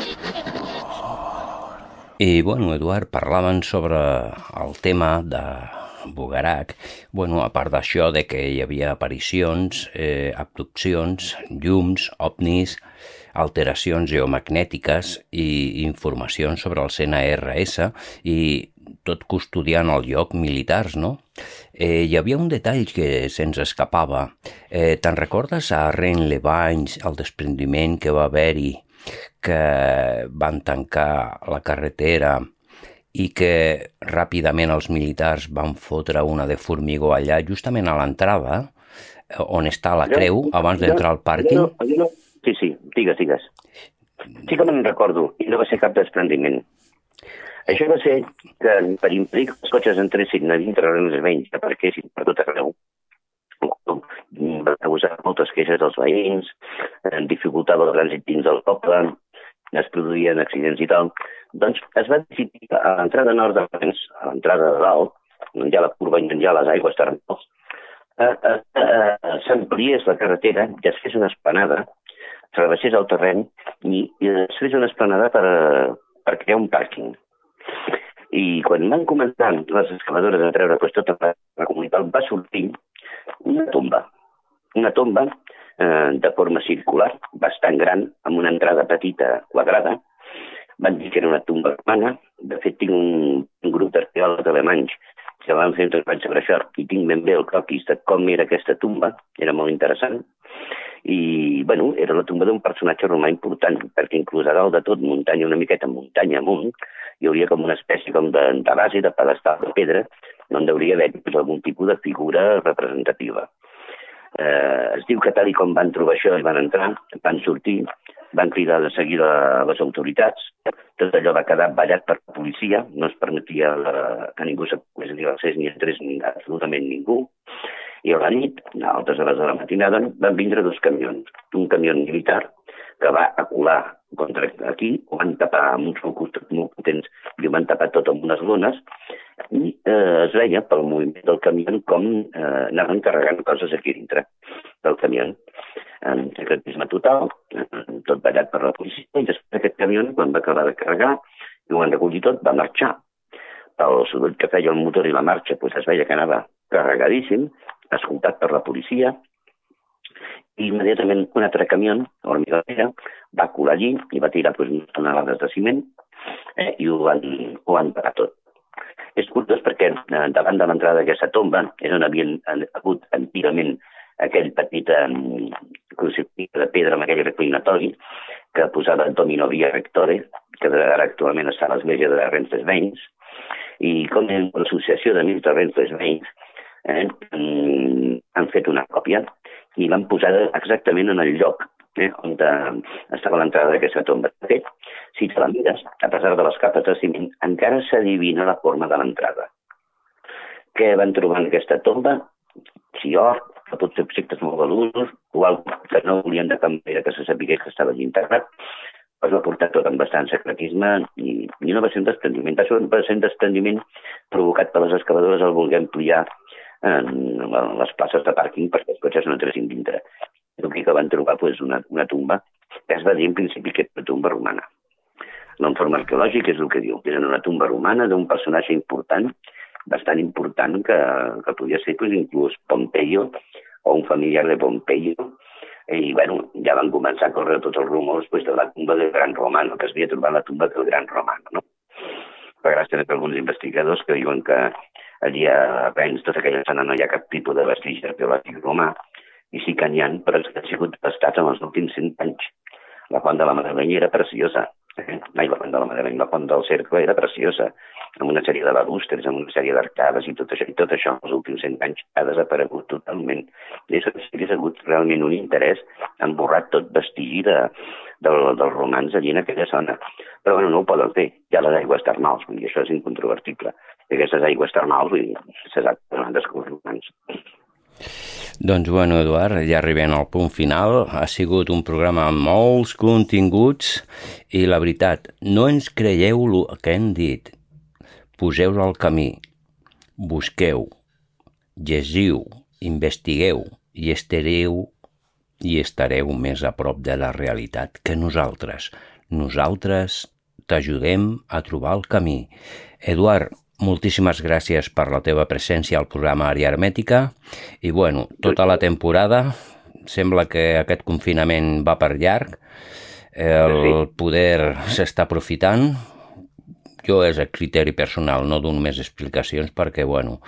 I, bueno, Eduard, parlaven sobre el tema de Bugarak. Bueno, a part d'això de que hi havia aparicions, abduccions, llums, ovnis, alteracions geomagnètiques i informacions sobre el CNRS i tot custodiant el lloc militars, no? Hi havia un detall que se'ns escapava. Te'n recordes a Rennes-les-Bains el desprendiment que va haver-hi, que van tancar la carretera i que ràpidament els militars van fotre una de formigó allà, justament a l'entrada, on està la creu, abans d'entrar al pàrquing? Sí, digues. Sí que me'n recordo, i no va ser cap desprendiment. Això va ser que per impedir que els cotxes entressin a dintre dels veïns, que parquessin per tot arreu, va causar moltes queixes dels veïns, dificultava el trànsit dins del poble, es produïen accidents i tal. Doncs es va decidir a l'entrada nord de Rennes, a l'entrada de dalt, on hi ha la curva i on hi ha les aigües termals, s'ampliés la carretera i es fes una esplanada, rebaixés el terreny i es fes una esplanada per crear un pàrquing. I quan van començar les excavadores a treure tota la comunitat, va sortir una tomba de forma circular, bastant gran, amb una entrada petita quadrada. Van dir que era una tomba romana. De fet, tinc un grup d'arqueòlegs alemanys que van fer un treball sobre això i tinc ben bé el croquis de com era aquesta tomba. Era molt interessant. I, bueno, era la tomba d'un personatge romà important, perquè inclús a dalt de tot, muntanya una miqueta, muntanya amunt, hi hauria com una espècie com de base, de pedestal de pedra, on hauria d'haver algun tipus de figura representativa. Es diu que tal com van trobar això i van entrar, van sortir, van cridar de seguida a les autoritats, tot allò va quedar ballat per la policia, no es permetia que ningú pogués dir l'accés ni entrés absolutament ningú, i a la nit, a altes hores de la matinada, van vindre 2 camions. Un camió militar que va acular contra aquí, ho van tapar amb uns focus molt potents i ho van tapar tot amb unes lones i es veia pel moviment del camió com anaven carregant coses aquí dintre del camió. En secretisme total, tot ballat per la policia, i després aquest camió, quan va acabar de carregar i ho van recollir tot, va marxar. El soroll que feia el motor i la marxa es veia que anava carregadíssim, escoltat per la policia, i immediatament un altre camió, hormigonera, va colar allí i va tirar unes tonelades de ciment i ho van parar tot. És curiós perquè davant de l'entrada d'aquesta tomba és on havien hagut antigament aquell petit crucifix de pedra amb aquell reclinatori que posava Domino Via Rectore, que ara actualment està a l'església de Renfrew-Veins, i com l'associació d'amics de Renfrew-Veins han fet una còpia i l'han posada exactament en el lloc on estava l'entrada d'aquesta tomba. De fet, si te la mires, a pesar de les capes de ciment, encara s'adivina la forma de l'entrada. Què van trobar en aquesta tomba? Si or, que pot ser objectes molt valuosos, o alguna que no volien de cap manera que se sapigués que estava allí integrat, es va portar tot amb bastant secretisme i no va ser un desprendiment. Va ser un desprendiment provocat per les excavadores al voler ampliar les places de pàrquing perquè els cotxes no entressin dintre. Aquí que van trobar una tumba que es va dir en principi que era una tumba romana. L'informe arqueològic és el que diu, que era una tumba romana d'un personatge important, bastant important, que podia ser inclús Pompeio o un familiar de Pompeio. I bueno, ja van començar a córrer tots els rumors de la tumba del Gran Romano, que es havia trobat la tumba del Gran Romano, no? Per gràcies a alguns investigadors que diuen que allí a Rennes, tota aquella zona, no hi ha cap tipus de vestigi arqueològic romà, i sí que n'hi ha, però és que han sigut devastats en els últims 100 anys. La font de la Madeleine era preciosa. La font de la Madeleine, la font del Cercle era preciosa, amb una sèrie de balustres, amb una sèrie d'arcades i tot això els últims 100 anys ha desaparegut totalment. I és que ha hagut realment un interès en borrar tot vestigi dels romans allí en aquella zona. Però bueno, no ho poden fer. Hi ha les aigües termals, vull dir, això és incontrovertible. I aquestes aigües termals, vull dir, se sap que no han descobert romans. Doncs bueno, Eduard, ja arribem al punt final. Ha sigut un programa amb molts continguts i la veritat, no ens creieu el que hem dit. Poseu-vos al camí, busqueu, llegiu, investigueu i estareu més a prop de la realitat que nosaltres. Nosaltres t'ajudem a trobar el camí. Eduard, moltíssimes gràcies per la teva presència al programa Àrea Hermètica i bueno, tota la temporada sembla que aquest confinament va per llarg, el poder s'està aprofitant. Jo és a criteri personal, no dono més explicacions perquè, bueno...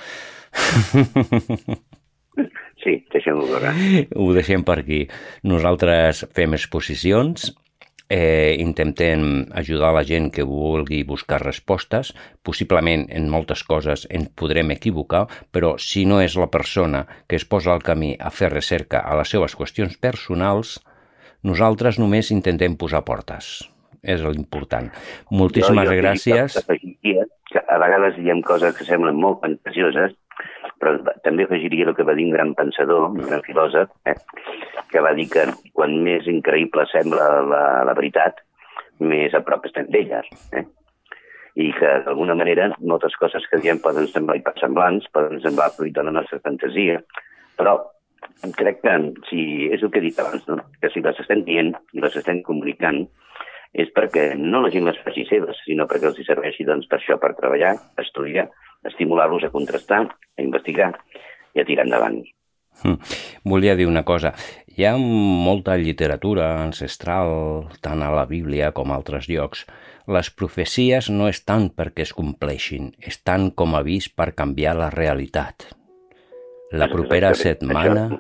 Sí, deixem-ho veure. Ho deixem per aquí. Nosaltres fem exposicions, intentem ajudar la gent que vulgui buscar respostes. Possiblement en moltes coses ens podrem equivocar, però si no és la persona que es posa al camí a fer recerca a les seves qüestions personals, nosaltres només intentem posar portes. És l'important. Moltíssimes gràcies. A vegades diem coses que semblen molt fantasioses, però també afegiria el que va dir un gran pensador, un gran filòsof, que va dir que quan més increïble sembla la veritat, més a prop estem d'elles. I que, d'alguna manera, moltes coses que diem poden semblar hipersemblants, poden semblar fruit de la nostra fantasia, però crec que, és el que he dit abans, no? Que si les estem dient i les estem comunicant, és perquè no la gent les faci seves, sinó perquè els hi serveixi per això, per treballar, estudiar, estimular-los a contrastar, a investigar i a tirar endavant. Volia dir una cosa. Hi ha molta literatura ancestral, tant a la Bíblia com a altres llocs. Les profecies no estan perquè es compleixin, estan com a avís per canviar la realitat. La propera setmana...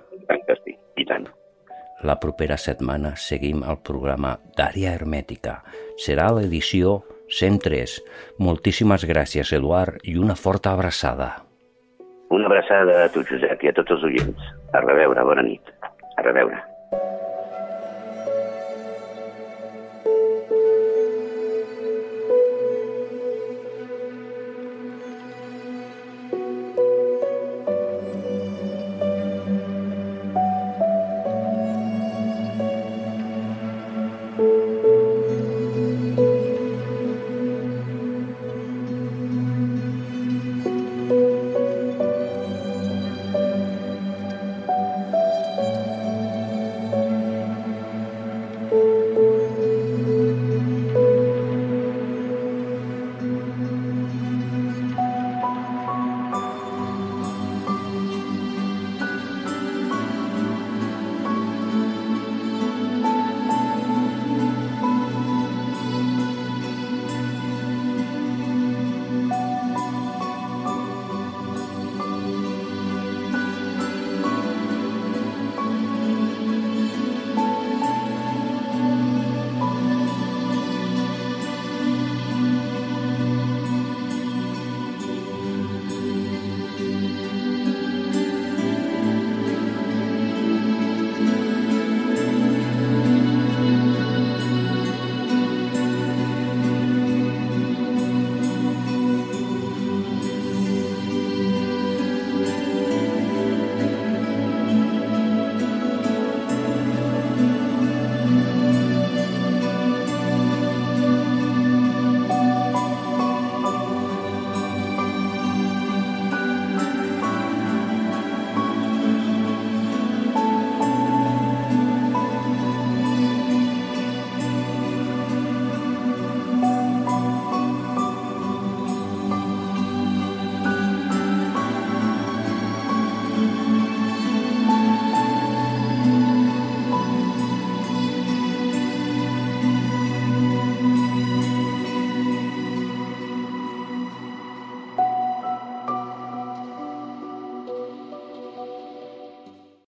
La propera setmana seguim el programa d'Àrea Hermètica. Serà l'edició 103. Moltíssimes gràcies, Eduard, i una forta abraçada. Una abraçada a tu, Josep, i a tots els oients. A reveure, bona nit. A reveure.